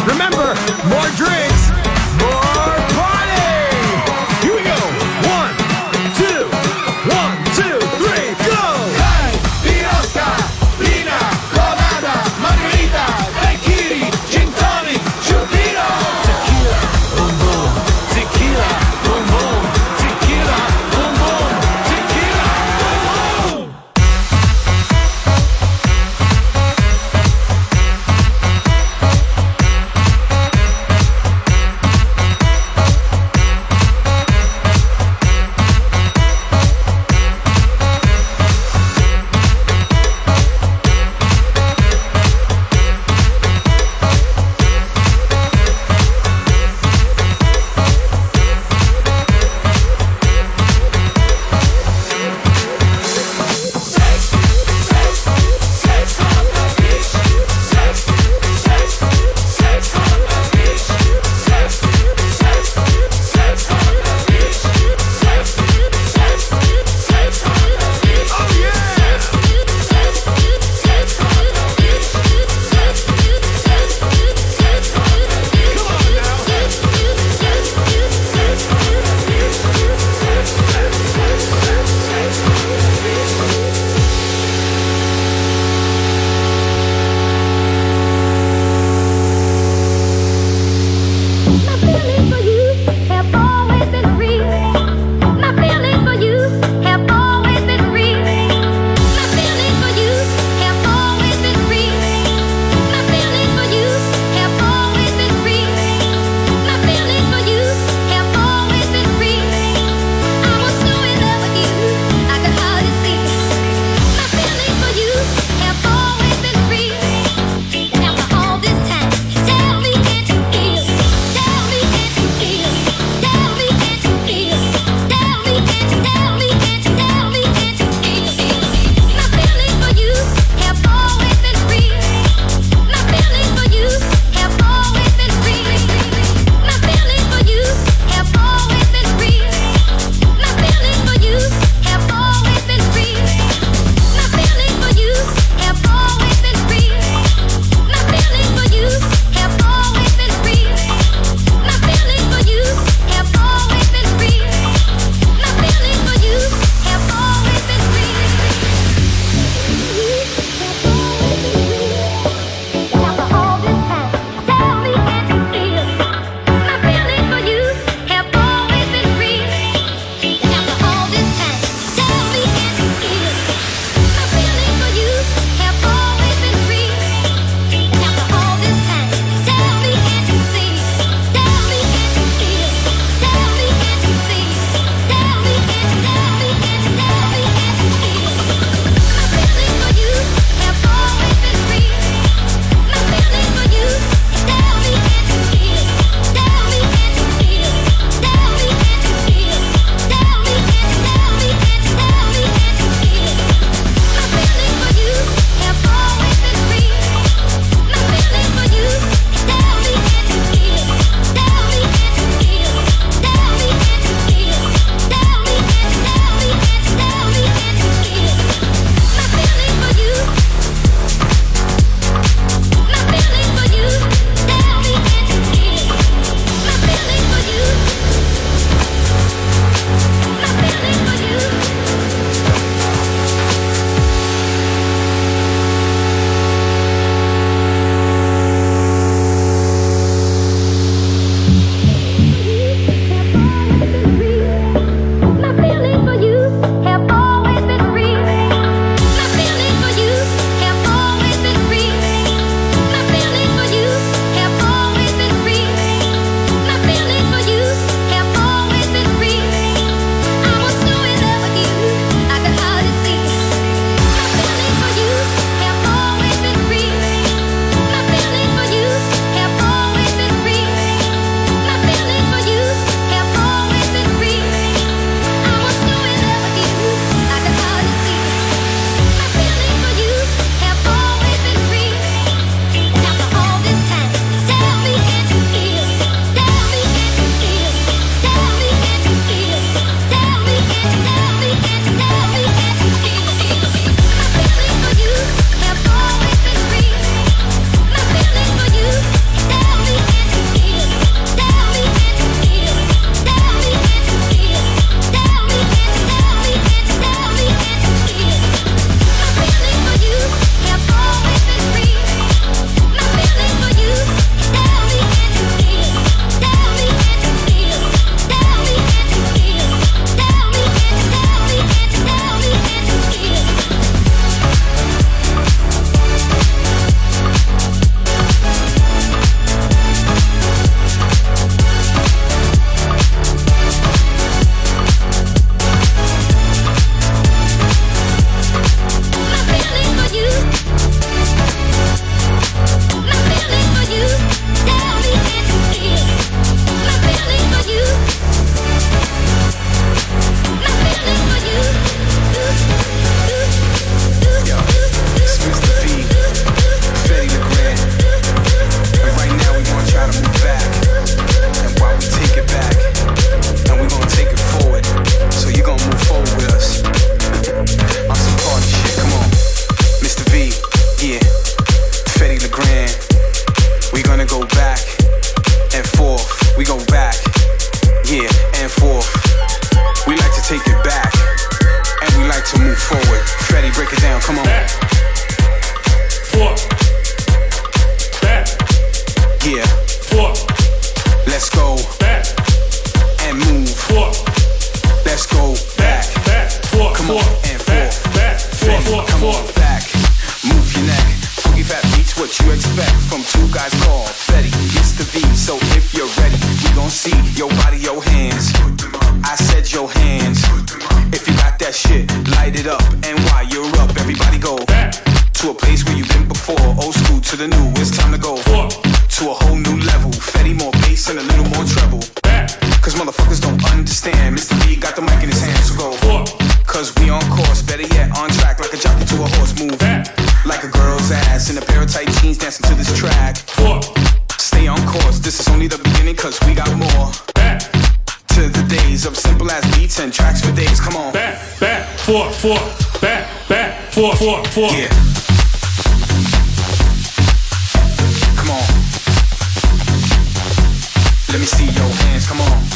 S11: Remember, more drinks, more party. Here we go. 1, 2, 1, 2, 3, go.
S13: Hey, Pirosca, Lina, Colada, Margarita, Daiquiri, Gin Tonic, Chupino. Tequila, boom boom. Tequila, boom boom. Tequila, boom boom. Tequila, boom boom.
S3: After all this time, tell me, can't you feel? Tell me, can't you feel?
S1: Let's go back and move. Let's go back. Come on and forth. Come on back. Move your neck. Funky fat beats, what you expect from two guys called Fetty, Mr. V. So if you're ready, we gon' see your body, your hands. I said your hands. If you got that shit, light it up. And while you're up, everybody go back to a place where you've been before. Old school to the new, it's time to go to a whole new level. Fetty, more bass and a little more treble. Cause motherfuckers don't understand. Mr. V got the mic in his hand, so go. Cause we on course, better yet on track. Like a jockey to a horse, move like a girl's ass in a pair of tight jeans dancing to this track. Stay on course, this is only the beginning. Cause we got more to the days of simple ass beats and tracks for days. Come on. Back, forth, back, forth. Yeah. Come on. Let me see your hands, come on.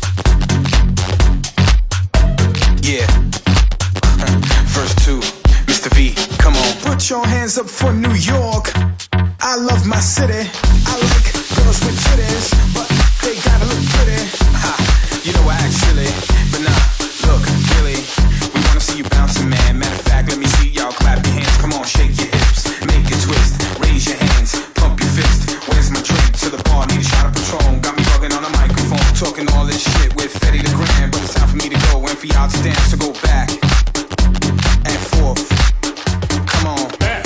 S1: Yeah. Verse 2, Mr. V, come on. Put your hands up for New York. I love my city. I like girls with titties, but they gotta look pretty. Ha, you know I act silly, but nah, look, really, we wanna see you bouncing, man. Matter of fact, let me see y'all clap your hands. Come on, shake your hips, make it twist, raise your hands, pump your fist. Where's my drink? To the bar, need a shot of Patron. Got me bugging on the microphone, talking all this shit with Fetty the Grand. But it's time for me to go and for y'all to dance. So go back and forth. Come on. Back.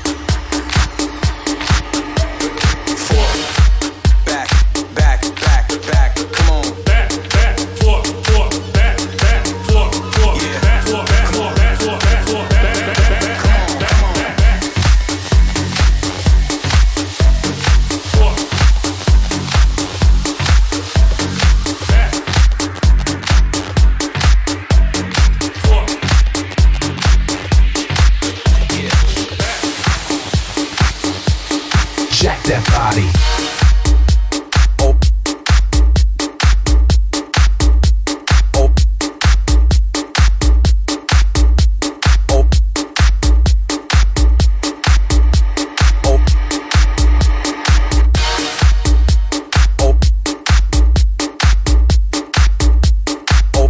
S1: Forth. Back. Come on. Back. Forth. Back. Forth. Yeah. Come on. Come on. Jack that body. Oh. Oh. Oh. Oh. Oh. Oh.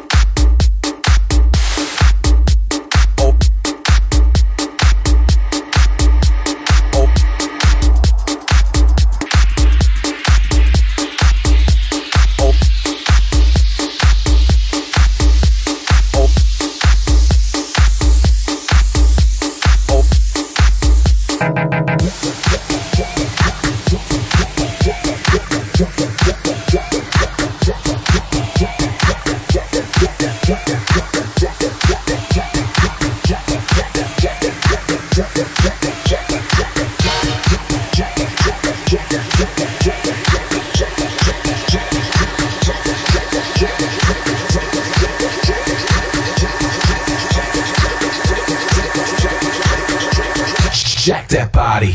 S1: Jack that body.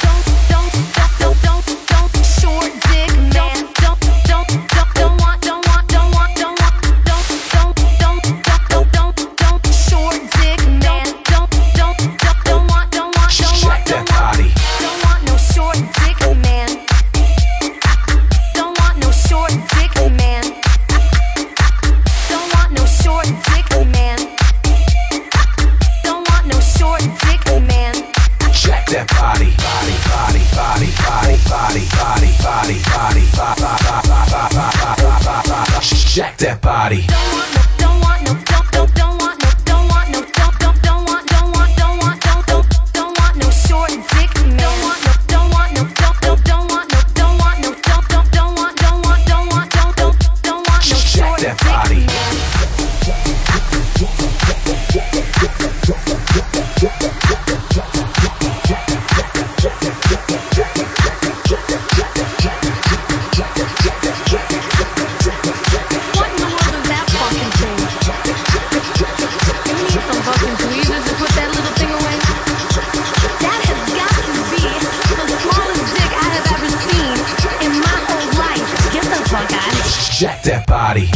S1: Jack that body. Jack that body.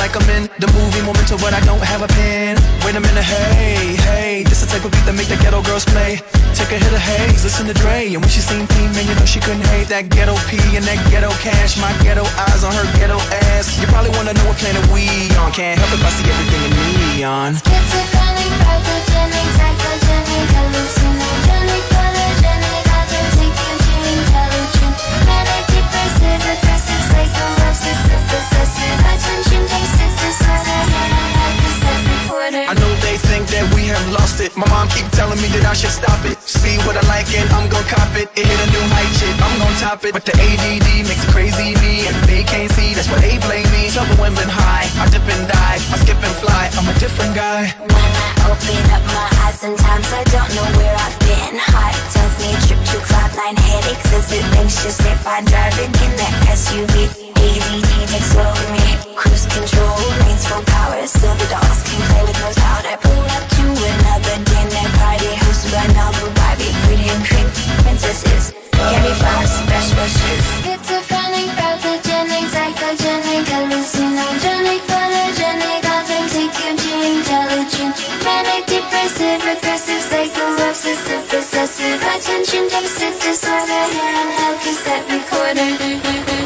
S14: like I'm in the movie Memento, but I don't have a pen. Wait a minute, hey, this the type of beat that make the ghetto girls play. Take a hit of haze, listen to Dre, and when she seen P, man, you know she couldn't hate that ghetto P and that ghetto cash. My ghetto eyes on her ghetto ass. You probably wanna know what planet we on. Can't help if I see everything in neon.
S3: Schizophrenic, pathogenic, psychogenic, hallucinogenic, polygenic, authentic, intelligent, manic, depressive, aggressive, psycho, obsessive, possessive, attention, deficit disorder, possessive reporter.
S14: I know they think that we have lost it. My mom keep telling me that I should stop it. See what I like and I'm gon' cop it. It hit a new height, shit, I'm gon' top it. But the ADD makes it crazy me, and they can't see, that's why they blame me. Trouble when been high, I dip and dive, I skip and fly, I'm a different guy.
S3: When I open up my eyes, sometimes I don't know where I've been. Heart tells me trip to cloudline, headaches as it anxious if I'm driving in that SUV. ADD takes over me, cruise control, lanes full power, so the dogs can play with no powder. Pull up to another dinner party, hosted by Noble Barbie, pretty and cream princesses. Carry flowers, fresh bushes. Schizophrenic, pathogenic, psychogenic, hallucinogenic, polygenic, authentic, intelligent, manic, depressive, aggressive, psycho, obsessive, possessive, attention deficit disorder, handheld cassette recorder.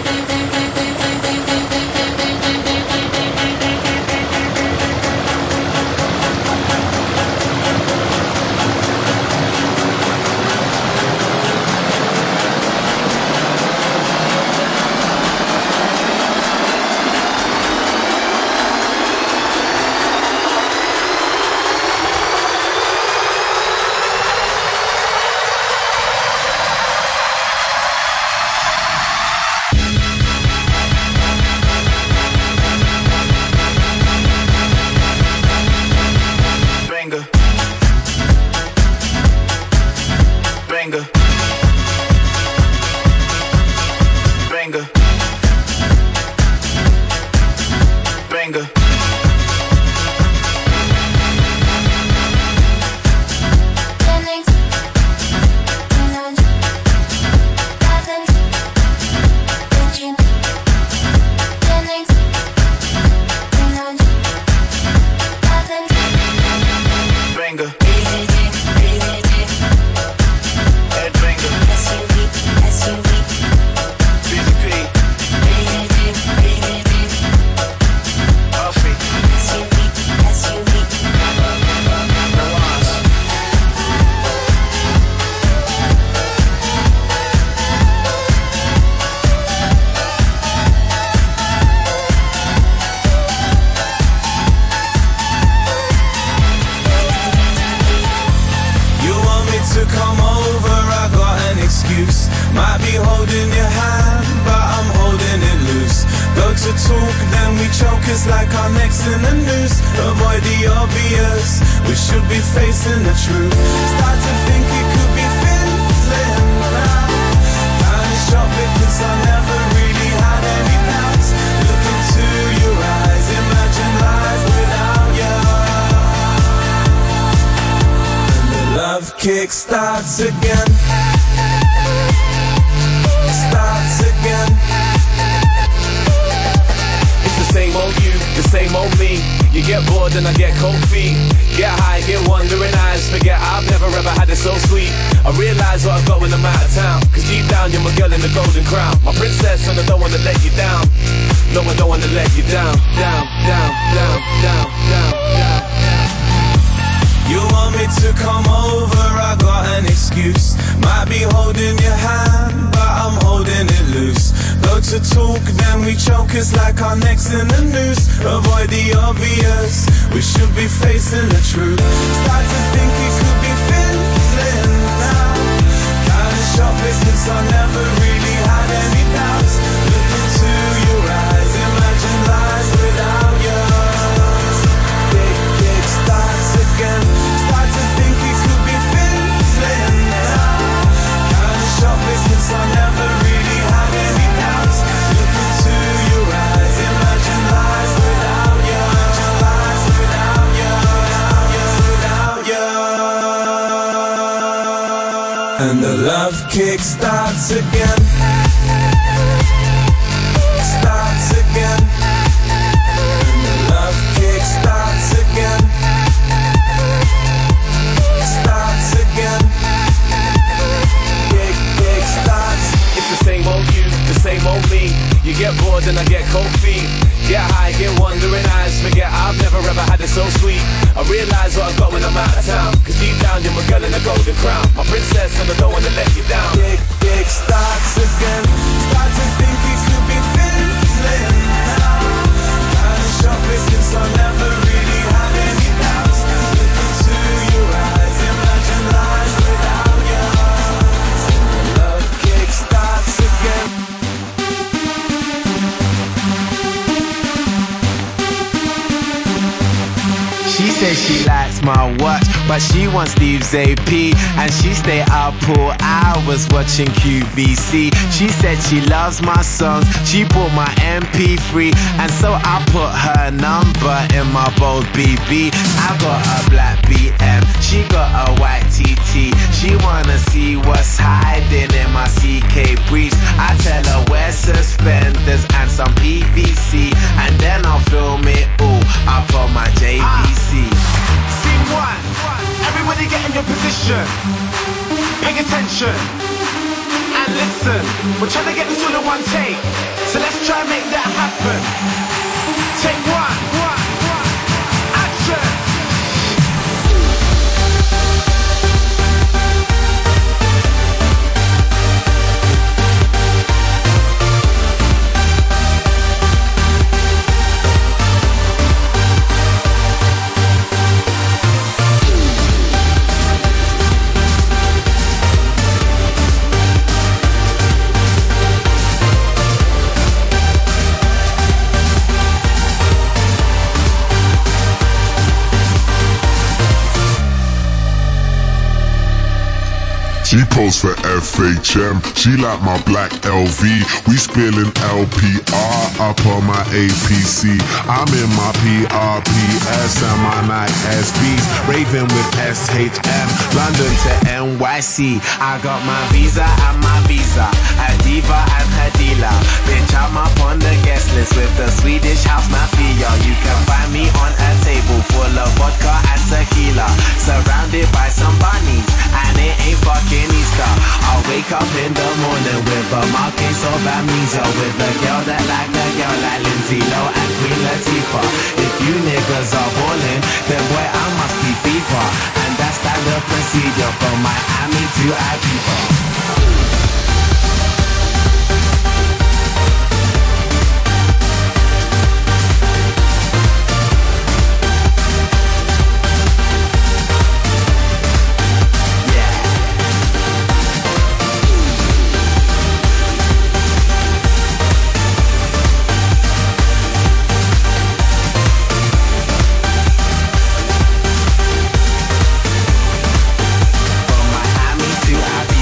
S1: Kick starts again. Starts again.
S11: It's the same old you, the same old me. You get bored and I get cold feet. Get high, get wandering eyes. Forget I've never ever had it so sweet. I realise what I've got when I'm out of town. Cause deep down you're my girl in the golden crown. My princess and I don't wanna let you down. No, I don't wanna let you down. Down, down, down, down, down, down.
S1: You want me to come over, I got an excuse. Might be holding your hand, but I'm holding it loose. Go to talk, then we choke, it's like our necks in the noose. Avoid the obvious, we should be facing the truth. Start to think it could be fizzling now. Kinda shocked because I never really had any doubts. Look into your eyes, imagine life without you. It starts again. Start to think it could be fizzling now. Kinda shocked because I never really had any doubts. Look into your eyes, imagine life without you. Imagine life without you, without you. And the love kick starts again. Starts again. And the
S11: what I got when I'm out of town. Cause deep down you're my girl in a golden crown, my princess, and I don't wanna let you down.
S1: Kick starts again. Start to think it could be fizzling now. Kinda shopping since I never really had any doubts. Look into your eyes, imagine life without you. Love kick starts again.
S15: She says she likes my watch, but she wants Steve's AP. And she stay up all hours watching QVC. She said she loves my songs, she bought my MP3. And so I put her number in my bold BB. I got a black BM, she got a white TT. She wanna see what's hiding in my CK briefs. I tell her wear suspenders and some PVC, and then I'll film it all up on my JVC.
S14: Scene one, everybody get in your position. Pay attention and listen. We're trying to get this all in one take, so let's try and make that happen. Take one, action.
S16: She posed for FHM, she like my black LV. We spilling LPR up on my APC. I'm in my PRPS and my Nike SBs, raving with SHM, London to NYC.
S15: I got my visa and my visa, a diva and her dealer. Bitch, I'm up on the guest list with the Swedish house mafia. You can find me on a table full of vodka and tequila, surrounded by some bunnies, and it ain't fucking Easter. I'll wake up in the morning with a marquise of amnesia, with a girl that like a girl like Lindsay Lohan and Queen Latifah. If you niggas are ballin', then boy I must be FIFA, and that's standard procedure from Miami to Ibiza. From Miami to Ibiza.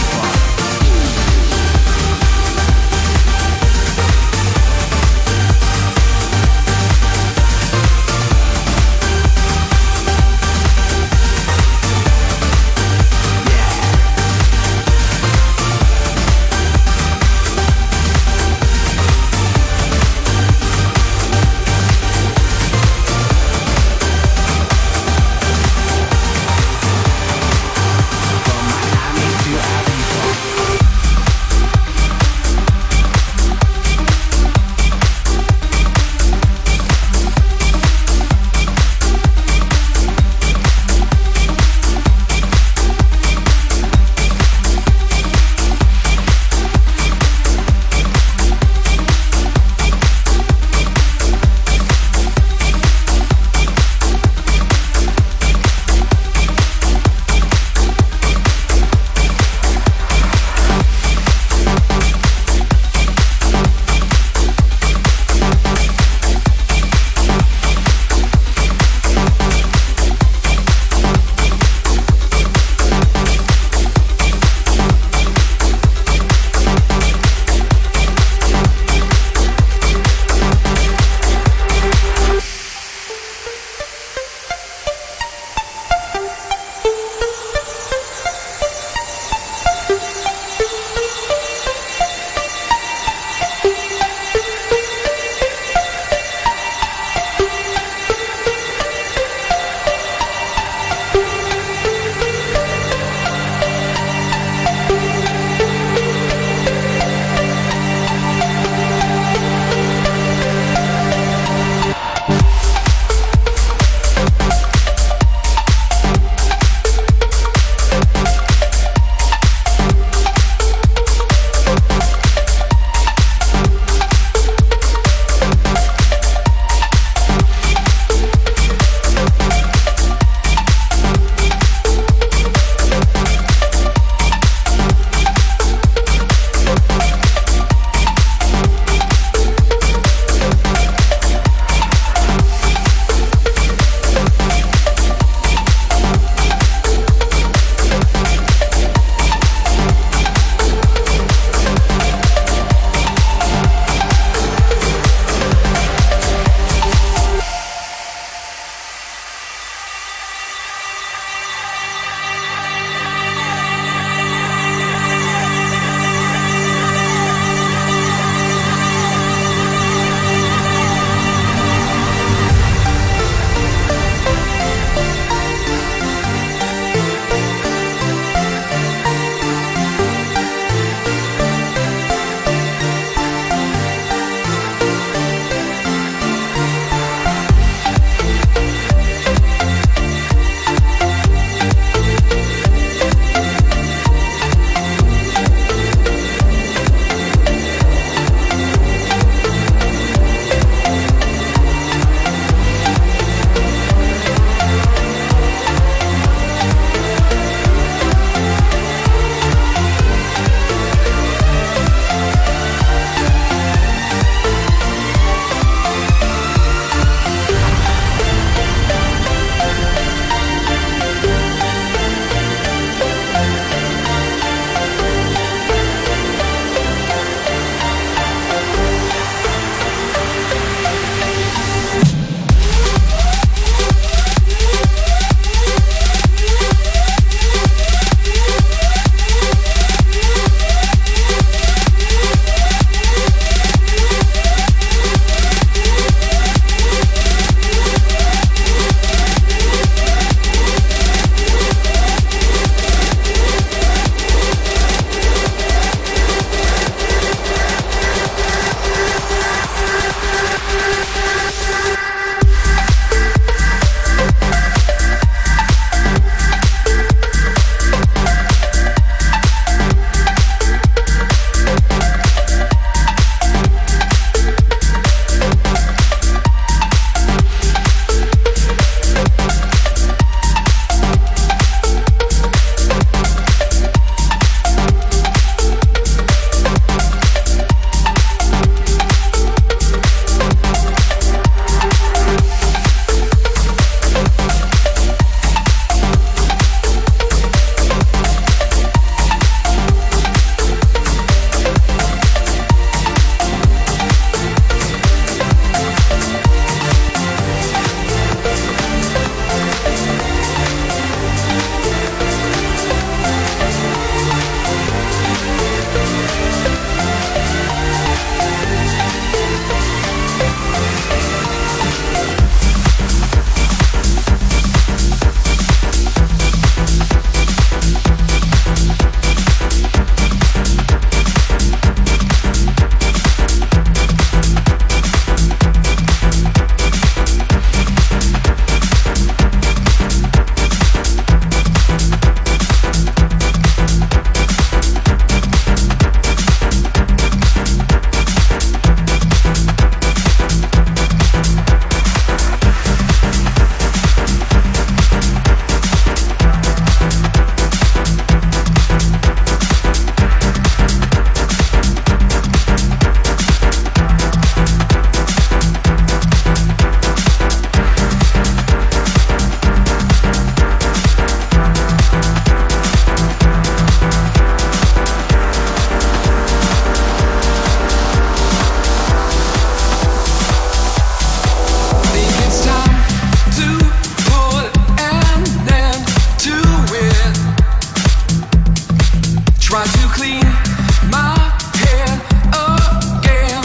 S14: to clean my head again.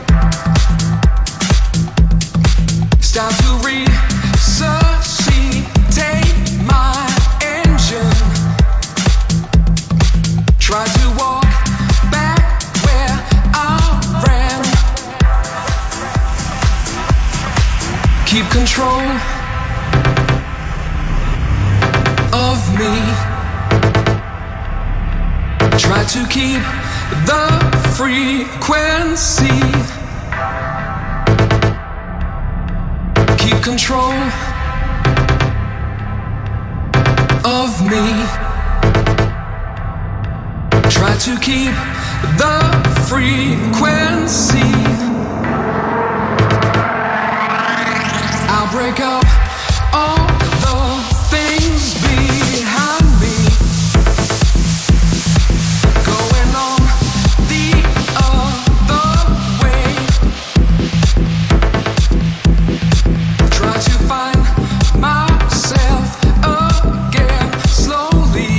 S14: It's time to resuscitate my engine. Try to walk back where I ran. Keep control of me. Try to keep the frequency. Keep control of me. Try to keep the frequency. I'll break up all the things behind me. Going on the other way. Try to find myself again slowly.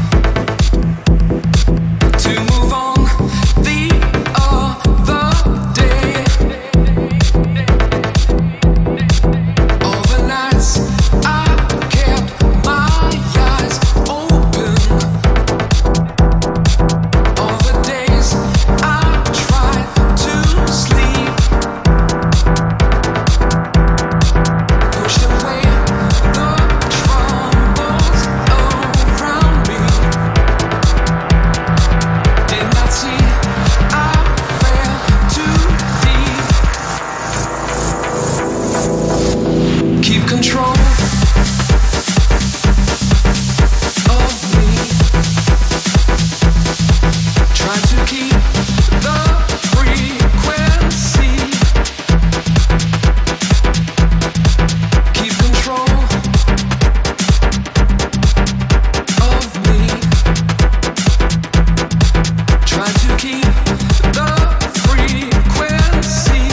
S14: To move on the other day. All the nights I kept my eyes open. All the days I tried to sleep. Push away the troubles around me. Did not see I fell too deep. Keep control of me. Try to keep the frequency. Keep control of me. Try to keep the frequency.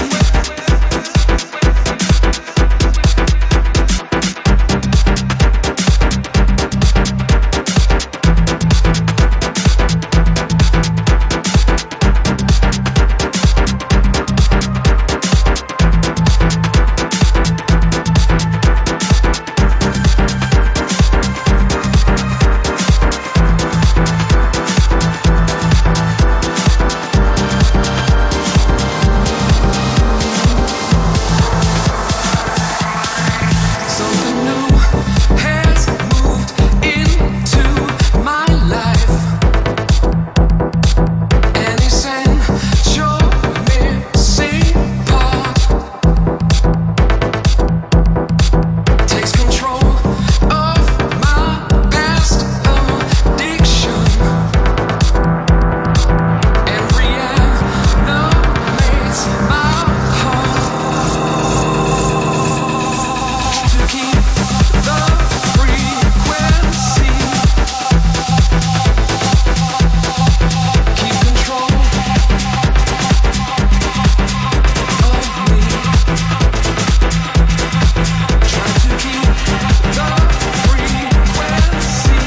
S14: Something new has moved into my life. An essential missing part takes control of my past addiction and reanimates my heart. To keep the frequency. Keep control of me. Try to keep the frequency.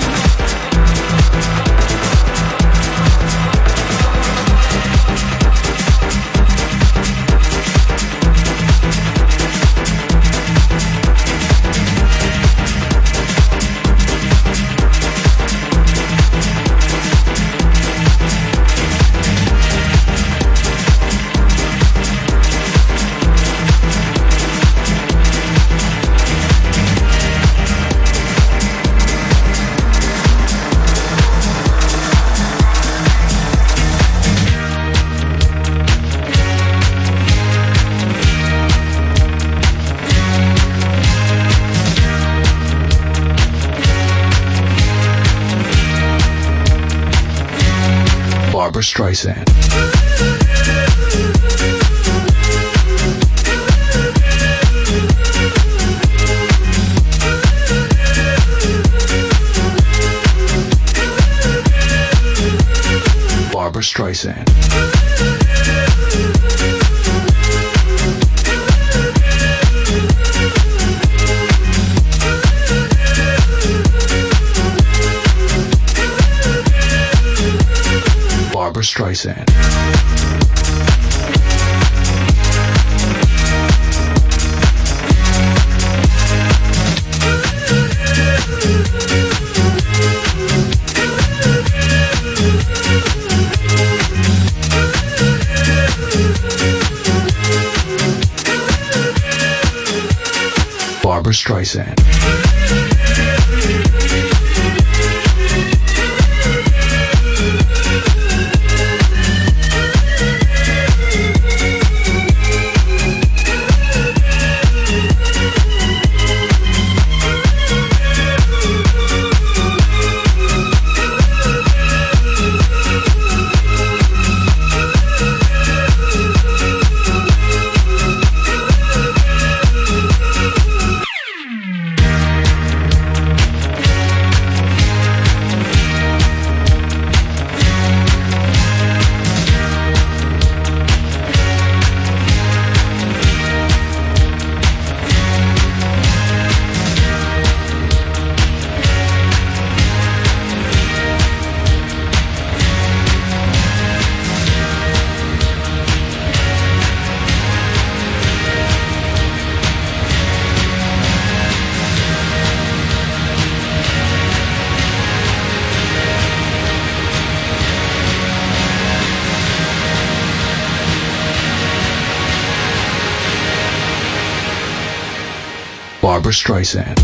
S17: Barbra Streisand. Barbra Streisand. Barbra Streisand. Barbra Streisand. Barbra Streisand.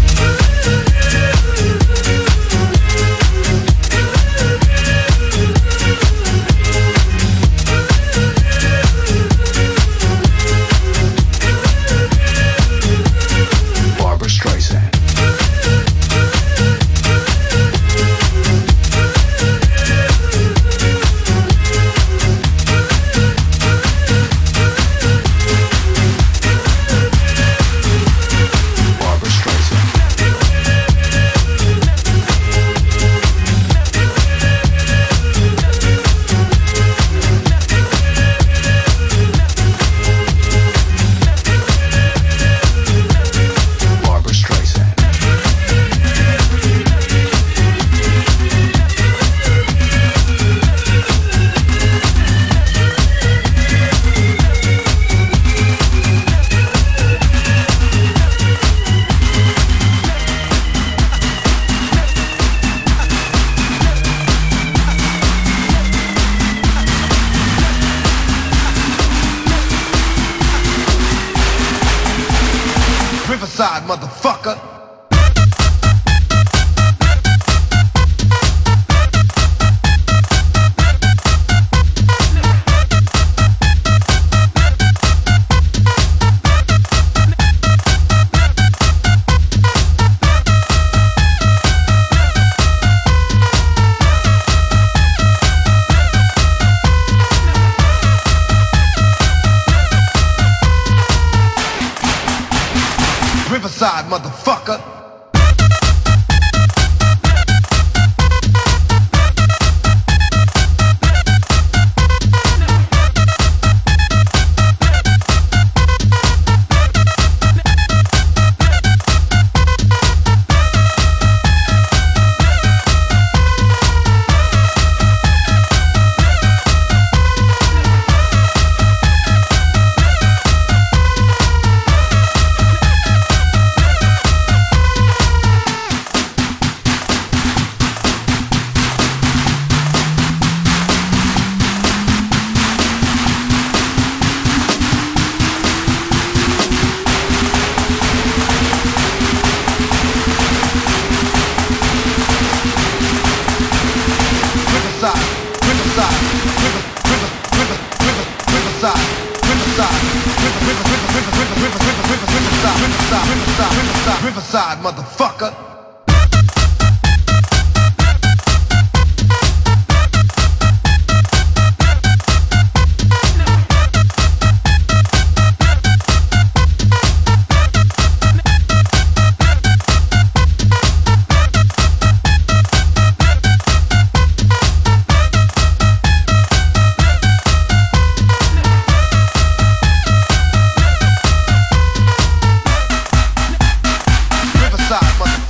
S17: Barbra Streisand.
S13: Riverside, motherfucker. Riverside, motherfucker. Riverside, motherfucker. Riverside, motherfucker.